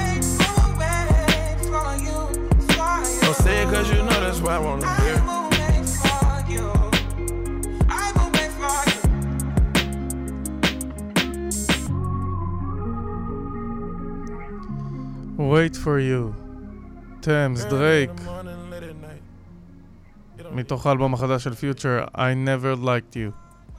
Don't say it cause you know that's why I wanna hear. Wait for you. טמס, דרייק. מתוך האלבום החדש של פיוטר, I never liked you.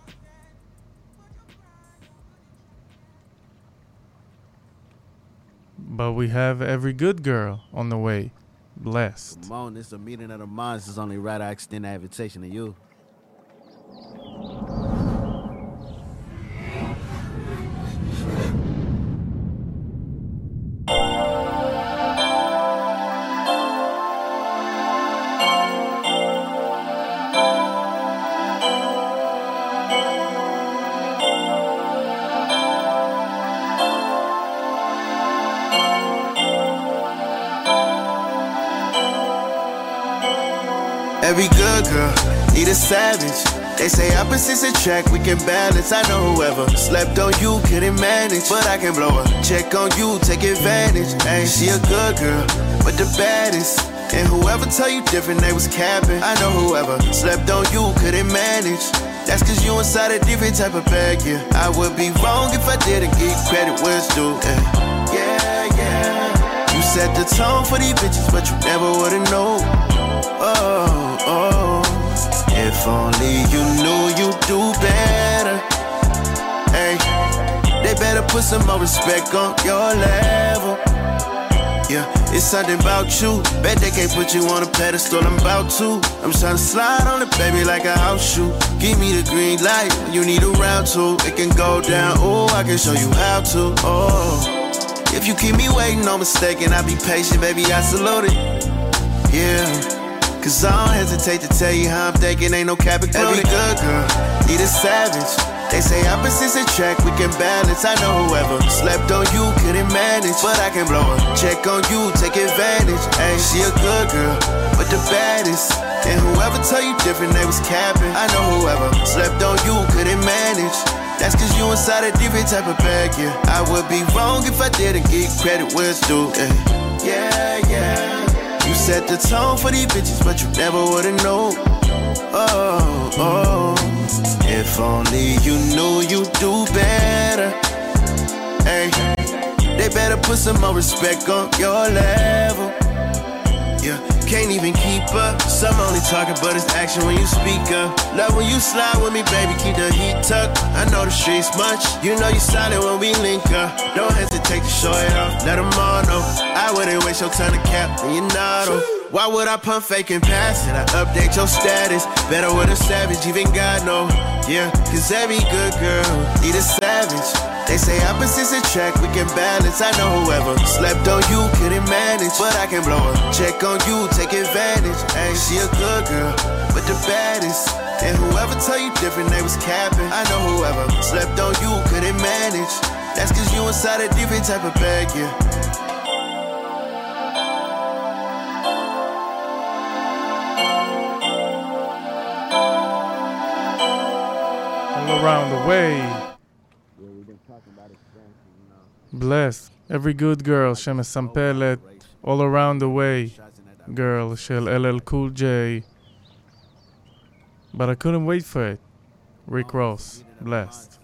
But we have every good girl on the way. Blessed. Ramon, it's a meeting of the minds. It's only right I extend that invitation to you. Every good girl need a savage. They say opposites attract, we can balance. I know whoever slept on you couldn't manage, but I can blow her check on you, take advantage. Hey, she a good girl, but the baddest. And whoever tell you different, they was capping. I know whoever slept on you couldn't manage. That's cause you inside a different type of bag, yeah. I would be wrong if I didn't give credit where it's due, yeah. Yeah, yeah. You set the tone for these bitches, but you never would've known. Oh, oh, if only you knew you'd do better. Hey, they better put some more respect on your level. Yeah, it's something about you. Bet they can't put you on a pedestal, I'm about to. I'm trying to slide on it, baby, like a house shoe. Give me the green light when you need a round two. It can go down, oh, I can show you how to. Oh, if you keep me waiting, no mistaken, I'll be patient, baby, I salute it. Yeah. Cause I don't hesitate to tell you how I'm thinking, ain't no cap included. Every good girl need a savage. They say opposites attract, we can balance. I know whoever slept on you couldn't manage, but I can blow her check on you, take advantage. Hey, she a good girl, but the baddest. And whoever tell you different, they was capping. I know whoever slept on you couldn't manage. That's cause you inside a different type of bag, yeah. I would be wrong if I didn't get credit where it's due, yeah. Yeah, yeah. You set the tone for these bitches, but you never would've known. Oh, oh. If only you knew you'd do better. Hey, they better put some more respect on your level. Yeah, can't even keep up. Some only talking, but it's action when you speak up. Love when you slide with me, baby, keep the heat tucked. I know the streets much, you know you silent when we link up. Don't hesitate to show it off, let them all know. I wouldn't waste your time to cap when you're not on. Why would I pump fake and pass it? I update your status, better with a savage, even God know. Yeah, cause every good girl need a savage. They say opposites attract, we can balance. I know whoever slept on you couldn't manage, but I can blow her check on you, take advantage. Hey, she a good girl, but the baddest. And whoever tell you different, they was capping. I know whoever slept on you couldn't manage. That's cause you inside a different type of bag, yeah. All around the way. Bless every good girl שמסמפלת All Around the Way girl של L L Cool J. But I couldn't wait for it. Rick Ross, blessed.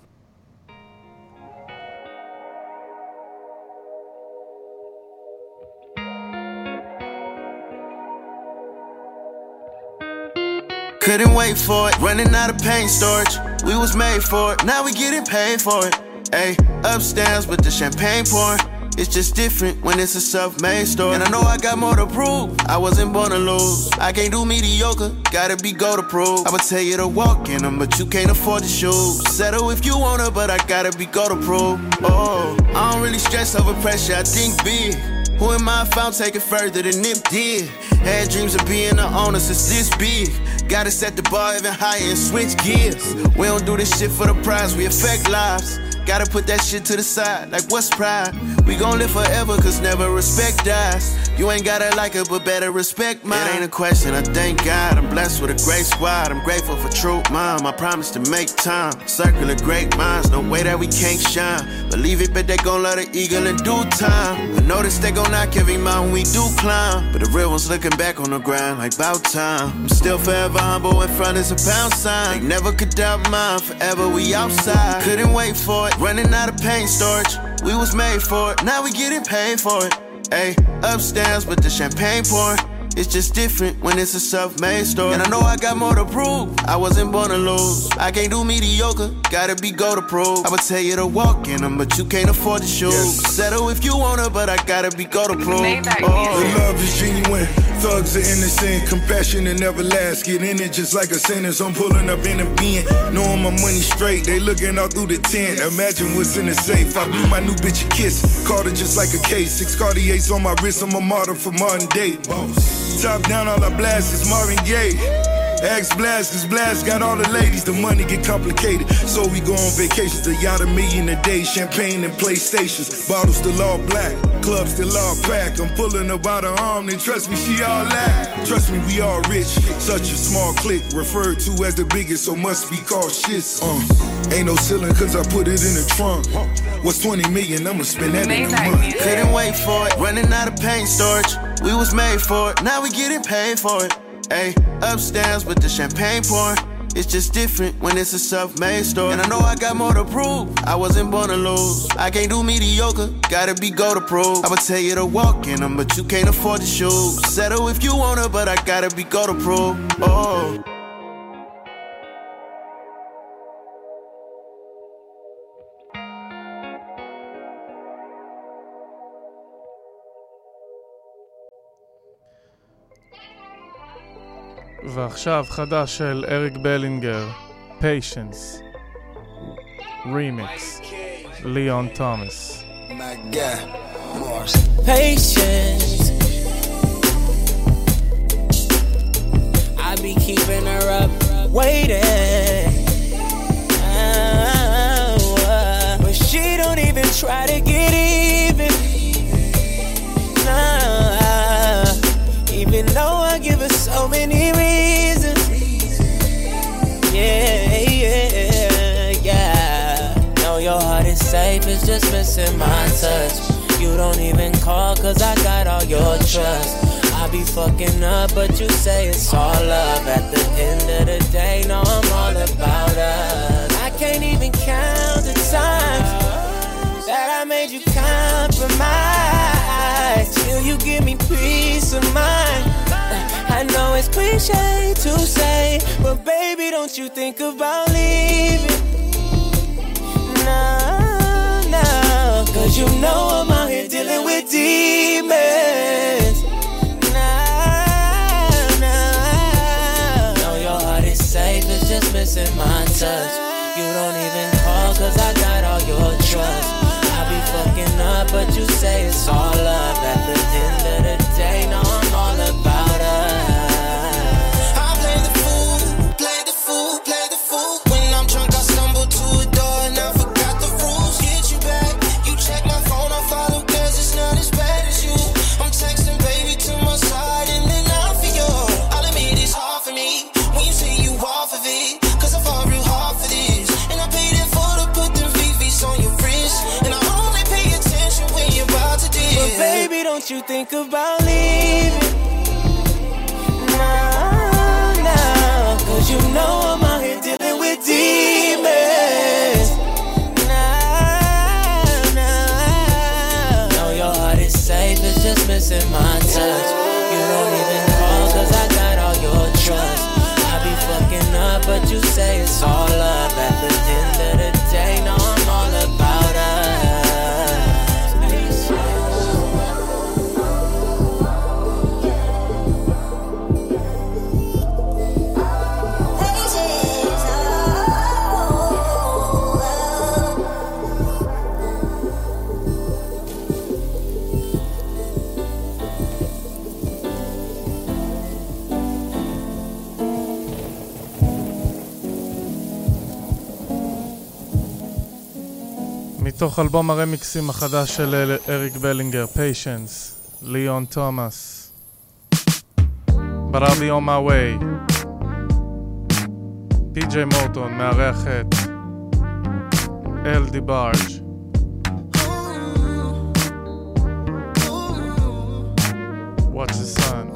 Couldn't wait for it, running out of pain storage. We was made for it, now we getting paid for it. Ay, upstairs with the champagne pouring. It's just different when it's a self-made story. And I know I got more to prove, I wasn't born to lose. I can't do mediocre, gotta be go to prove. I would tell you to walk in them, but you can't afford the shoes. Settle if you wanna, but I gotta be go to prove. Oh, I don't really stress over pressure, I think big. Who am I if I'm taking further than Nip did? Had dreams of being the owner since this big. Gotta set the bar even higher and switch gears. We don't do this shit for the prize, we affect lives. Gotta put that shit to the side, like what's pride? We gon' live forever, cause never respect dies. You ain't gotta like it, but better respect mine. It ain't a question, I thank God. I'm blessed with a great squad. I'm grateful for true mom. I promise to make time. Circle of great minds, no way that we can't shine. Believe it, but they gon' love the eagle in due time. I notice they gon' knock every mountain we do climb. But the real ones looking back on the grind like bout time. I'm still forever humble in front is a pound sign. They never could doubt mine, forever we outside. Couldn't wait for it. Running out of pain storage, we was made for it. Now we getting paid for it. Ay, upstairs with the champagne pouring. It's just different when it's a self-made story. And I know I got more to prove, I wasn't born to lose. I can't do mediocre, gotta be go to prove. I would tell you to walk in them, but you can't afford the shoes. Yes. Settle if you wanna, but I gotta be go to prove. Oh. The love is genuine, thugs are innocent, compassion and never last. Get in it just like a sentence, I'm pulling up in a bin. Knowing my money straight, they looking out through the tent. Imagine what's in the safe, I blew my new bitch a kiss. Caught it just like a case, six Cartiers on my wrist, I'm a martyr for modern day. Top down, all I blast is Marvin Gaye. Ask Blast, cause Blast got all the ladies. The money get complicated, so we go on vacations. The yacht a million a day, champagne and PlayStations. Bottles still all black, clubs still all packed. I'm pulling her by the arm, then trust me, she all that. Trust me, we all rich, such a small clique. Referred to as the biggest, so must be called shits. Uh, ain't no ceiling, cause I put it in the trunk. What's twenty million, I'ma spend that in a month. Couldn't wait for it, running out of pain storage. We was made for it, now we getting paid for it. Ay, upstairs with the champagne pouring. It's just different when it's a self-made story. And I know I got more to prove, I wasn't born to lose. I can't do mediocre, gotta be go to prove. I would tell you to walk in them, but you can't afford the shoes. Settle if you wanna, but I gotta be go to prove. Oh. ועכשיו חדש של אריק בלינגר, Patience, Remix, ליאון תומאס. Patience, be keeping her up, waiting. Oh, uh, but she don't even try to get even. Nah, even though I give her so many reasons. Yeah, yeah, yeah. Know your heart is safe, it's just missing my touch. You don't even call cause I got all your trust. I be fucking up but you say it's all love. At the end of the day, no, I'm all about us. I can't even count the times that I made you compromise. Still you give me peace of mind. I know it's cliche to say, but baby, don't you think about leaving? No, no, cause you know I'm out here dealing with demons. No, no, know your heart is safe, it's just missing my touch. You don't even call cause I got all your trust. I be fucking up but you say it's all love. At the end of the day, no, I'm all about us. Don't you think about leaving? No, no, cause you know I'm out here dealing with demons. No, no, know your heart is safe, it's just missing my touch. You don't even call cause I got all your trust. I be fucking up but you say it's all love. At the end of the day, no, I'm all about us. מתוך אלבום הרמיקסים החדש של אריק בלינגר, Patience, ליאון תומאס, But I'll be on my way. פי ג'יי מורטון מארח את אל די בארג'. Watch the sun.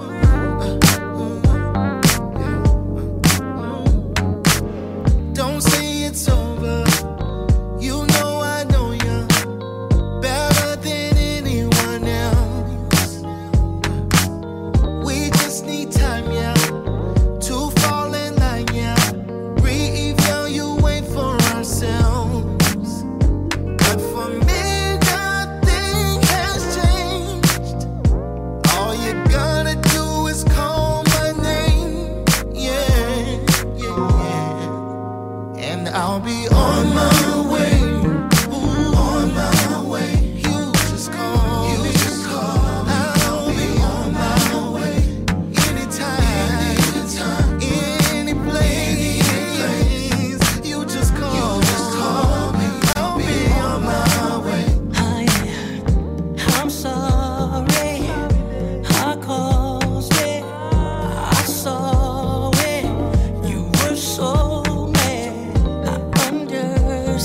Don't say it's over. You know I know you better than anyone else. We just need time, yeah, to fall in line, yeah. Re-evaluate for ourselves. But for me, nothing has changed. All you gotta do is call my name, yeah, yeah, yeah. And I'll be on my way. So mad, I under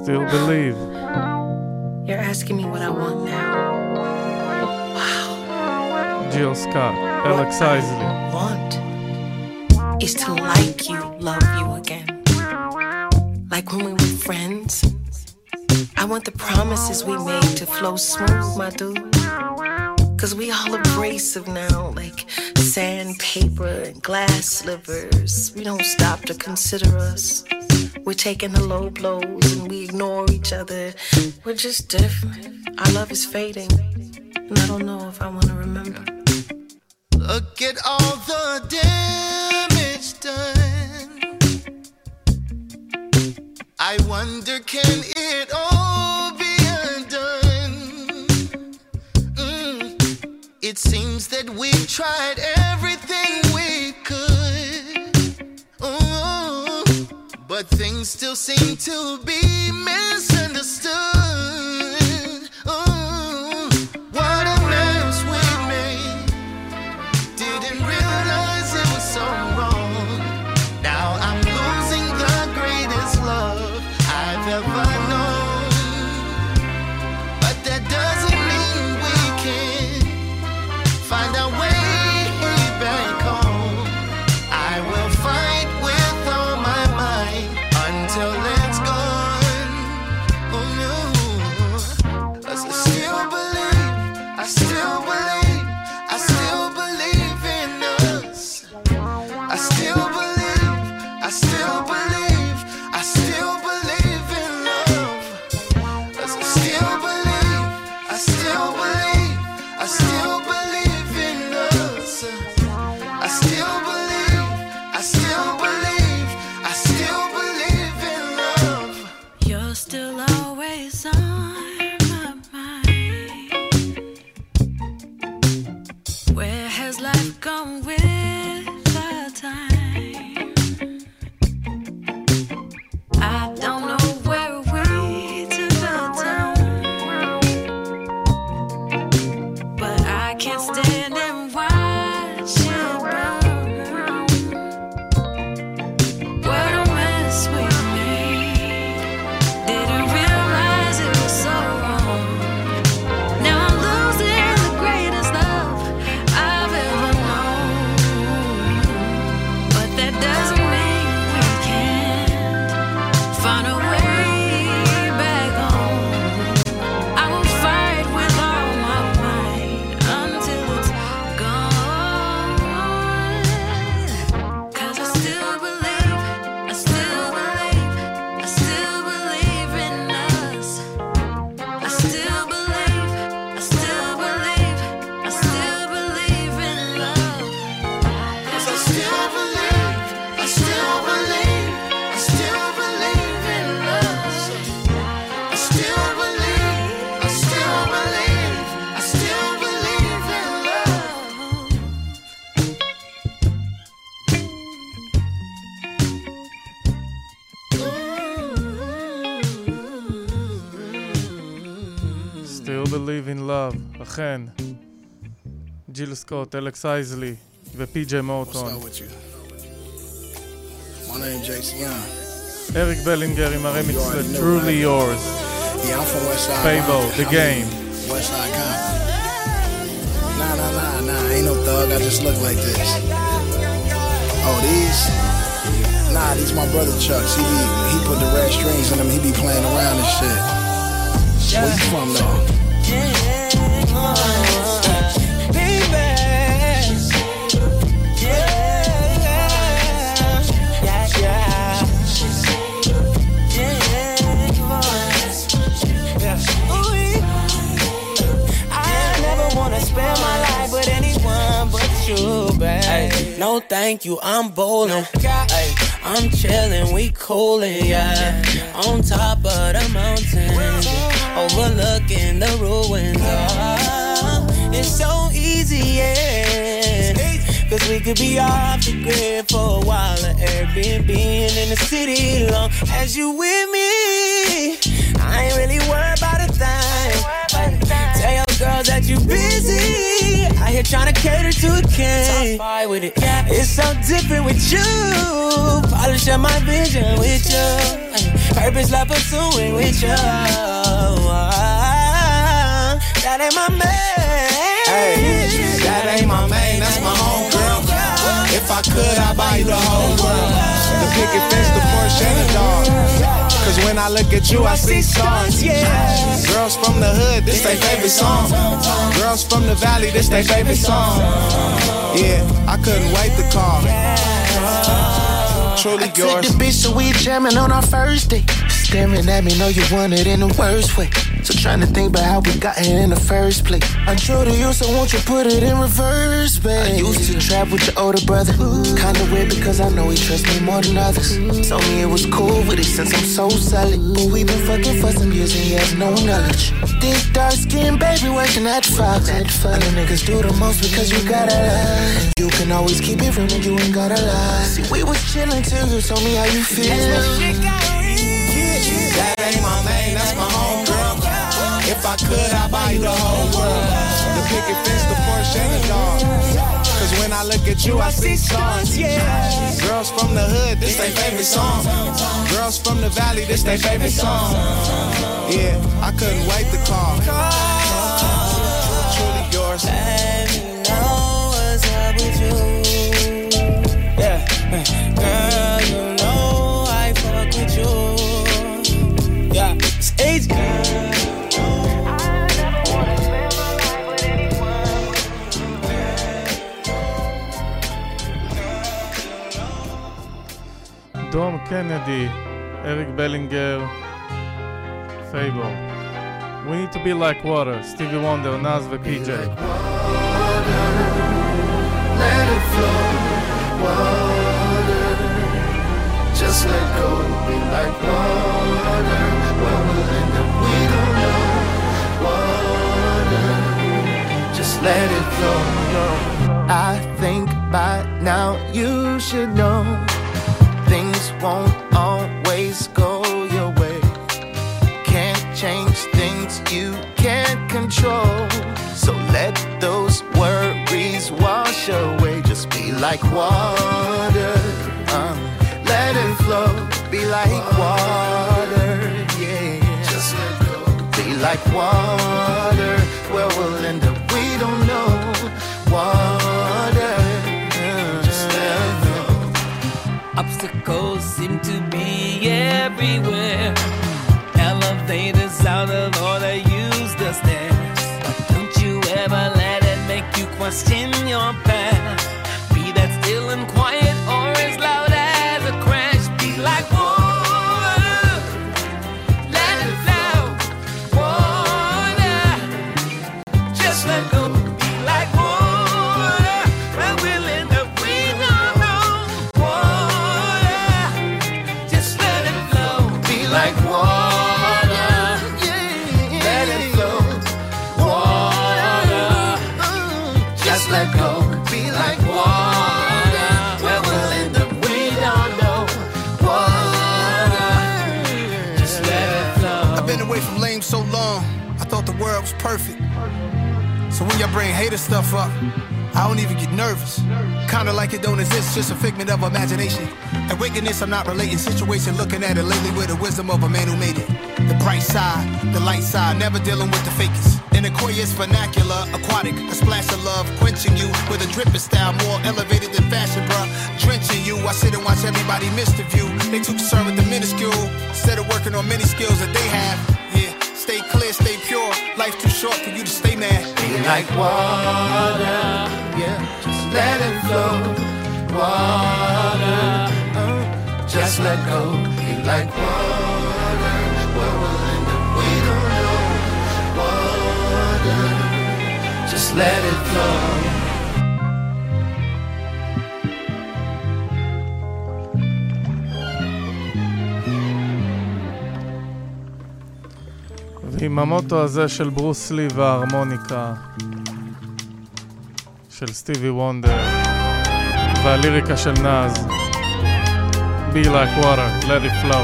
Still believe. You're asking me what I want now. Jill Scott, Alex Isley. Want is to like you, love you again. Like when we were friends. I want the promises we made to flow smooth, my dude. Cause we all abrasive now, like sandpaper and glass slivers. We don't stop to consider us. We're taking the low blows and we ignore each other. We're just different. Our love is fading, and I don't know if I want to remember. Look at all the damage done. I wonder, can it all be undone? Mm. It seems that we've tried everything we could. Ooh. But things still seem to be misunderstood. Ooh. What a mess we made. Didn't realize it was so wrong. Now I'm losing the greatest love I've ever known. But that doesn't mean we can't find our way back home. I will fight with all my might until it's gone. Oh no. 'Cause I still believe, I still believe, I still believe in us. I still believe, I still believe, I still believe in love. 'Cause I still believe, I still believe, I still believe in us. I still believe, I still believe, I still believe in love. You're still always on my mind. Where has life gone with the time? I don't know where we took the time, but I can't stand and watch it burn. What a mess we made. Didn't realize it was so wrong. Now I'm losing the greatest love I've ever known. But that doesn't mean we can't find a way back home. I will fight with all my might until it's gone. 'Cause I still believe, I still believe, I still believe in us. I still believe, I still believe, I still believe in love. 'Cause I still believe, I still believe, I still believe in us. I still believe, I still believe, I still believe in love. Still believe in love. אכן. ג'יל סקוט, אלכס אייזלי ופי.ג'יי מורטון. My name Jason Young. אריק בלינגר עם הרמיקס ל-Truly Yours. Yeah, I'm from West Side. Fabo, The I'm Game. West Side Compton. Nah, nah, nah, nah. Ain't no thug. I just look like this. Oh, these? Nah, these my brother Chucks. He be, he put the red strings in them. He be playing around and shit. Where you from, though? Spend my life with anyone but you, babe. Ay, no thank you, I'm bowling. Ay, I'm chilling, we coolin', yeah. On top of the mountain, overlooking the ruins. Oh, it's so easy, yeah. Cause we could be off the grid for a while, or Airbnb in the city long as you with me. I ain't really worried about a thing. Tell your girls that you busy. I here trying to cater to a king. Top five with it. Yeah, it's so different with you. Polish up my vision with you. Purpose love pursuing with you. That ain't my man. Hey, that ain't my man, that's my home girl. If I could, I'd buy you the whole world. The picket fence, the Porsche, and the dog. Cause when I look at you, I see stars. Girls from the hood, this they favorite song. Girls from the valley, this they favorite song. Yeah, I couldn't wait to call. Truly I yours. took the bitch so we jamming on our first date. Staring at me, know you want it in the worst way. So trying to think about how we got here in the first place. I'm true to you, so won't you put it in reverse, babe? I used to trap with your older brother. Kinda weird because I know he trusts me more than others. Told me it was cool with it since I'm so solid. But we been fucking for some years and he has no knowledge. This dark skin baby working at Fox. And the niggas do the most because you gotta lie. You can always keep it real and you ain't gotta lie. See, we was chilling till you told me how you feel. That ain't my man, that's my home girl. If I could, I'd buy you the whole world. The picket fence, the Porsche, and the dog. Cause when I look at you, I see stars. Girls from the hood, this they favorite song. Girls from the valley, this they favorite song. Yeah, I couldn't wait to call. Truly yours. Let me know what's up with you. Yeah, girl, you know I fuck with you. Yeah, it's age girl. דום קנדי, אריק בלינגר, פייבור. We need to be like water, סטיבי וונדר, נאז ופי ג'יי. Let it flow, water. Just let go, be like water. Where we'll end up, we don't know. Water, just let it flow. I think by now you should know things won't always go your way. Can't change things you can't control. So let those worries wash away. Just be like water, uh, let it flow. Be like water, yeah. Just let go. Be like water, where we'll end up, we don't know. Water, just let it go. Obstacles seem to be everywhere. Elevators out of order, use the stairs. But don't you ever let it make you question your path. Be that still and quiet or as loud as a crash. Be like water, let it flow. Water, just let go. Be like water, where we'll end up, we don't know. Water, just let it flow. Be like water, yeah. Let it flow. Water, just let go. Be like water, where we'll end up, we don't know. Water, just let it flow. I've been away from lame so long, I thought the world was perfect. So when y'all bring hater stuff up, I don't even get nervous. Kinda like it don't exist, just a figment of imagination. And wickedness, I'm not relating. Situation, looking at it lately with the wisdom of a man who made it. The bright side, the light side, never dealing with the fakest. In Aquarius vernacular, aquatic, a splash of love, quenching you with a dripping style, more elevated than fashion, bruh. Drenching you, I sit and watch everybody miss the view. They too concerned with the minuscule, instead of working on many skills that they have. Yeah, stay clear, stay pure. Life's too short for you to stay mad. Be like water, yeah. Just let it flow. Water, uh, just let go. Be like water, where we'll end up, we don't know. Water, just let it flow. ועם המוטו הזה של ברוס לי וההרמוניקה של סטיבי וונדר והליריקה של נאז, Be like water, let it flow.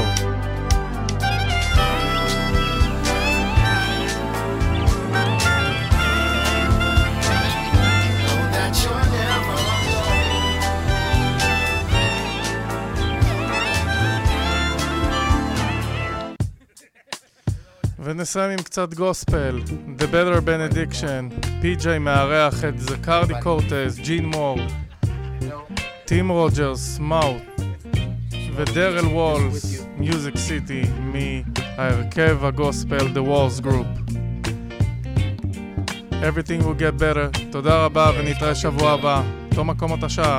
ונסיים עם קצת גוספל. The Better Benediction, פי ג'יי מארח את זקרדי קורטז, ג'ין מור, טים רוג'רס, מאוט ודרל וולס, מיוזיק סיטי, מההרכב הגוספל The Walls Group. Everything will get better. תודה רבה ונתראה שבוע הבא. תום מקומות השעה.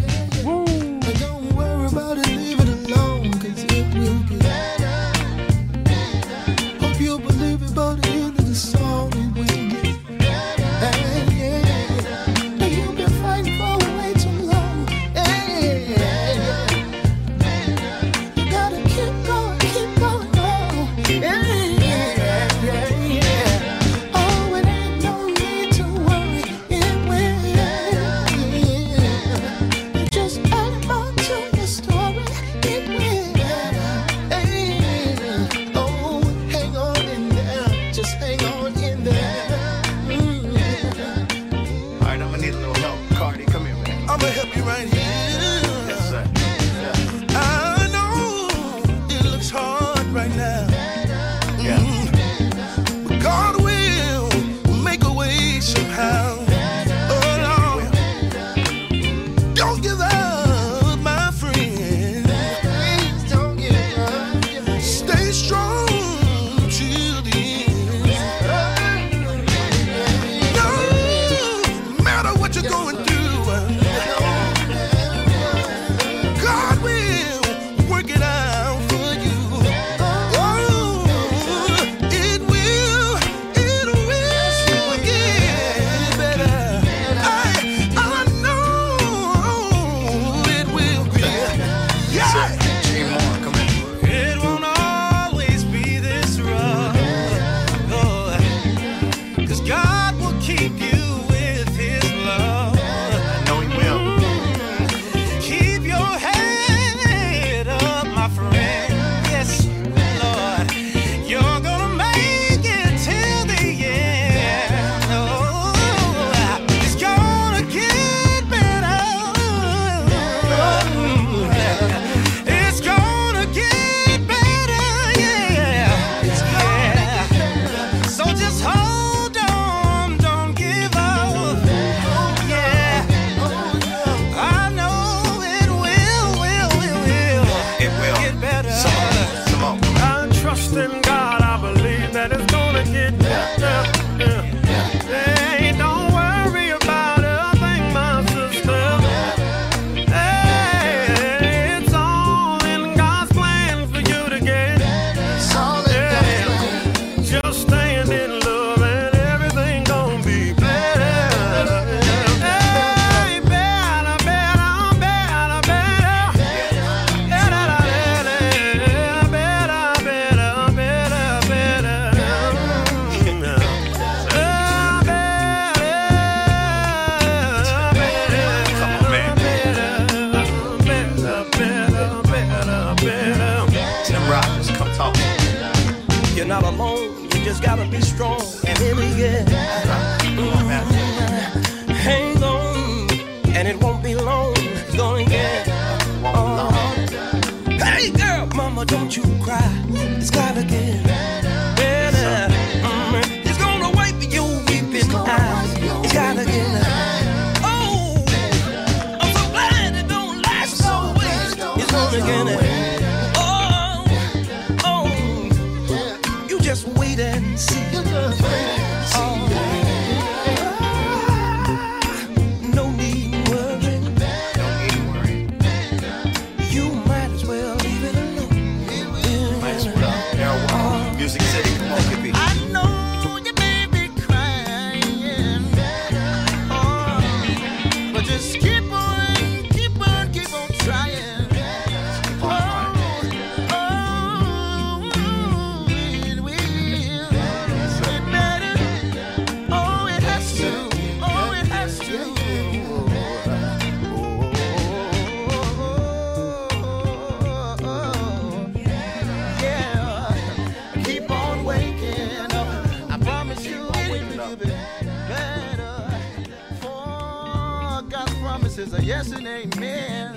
Yes and amen.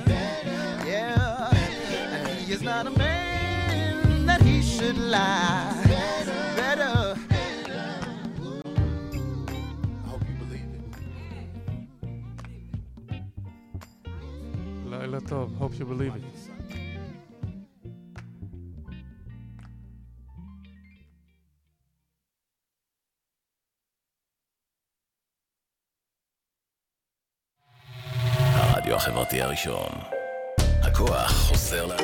Yeah, and he is not a man that he should lie. better. לילה טוב, hope you believe it. הרדיו החברתי הראשון. הכוח חוזר ל...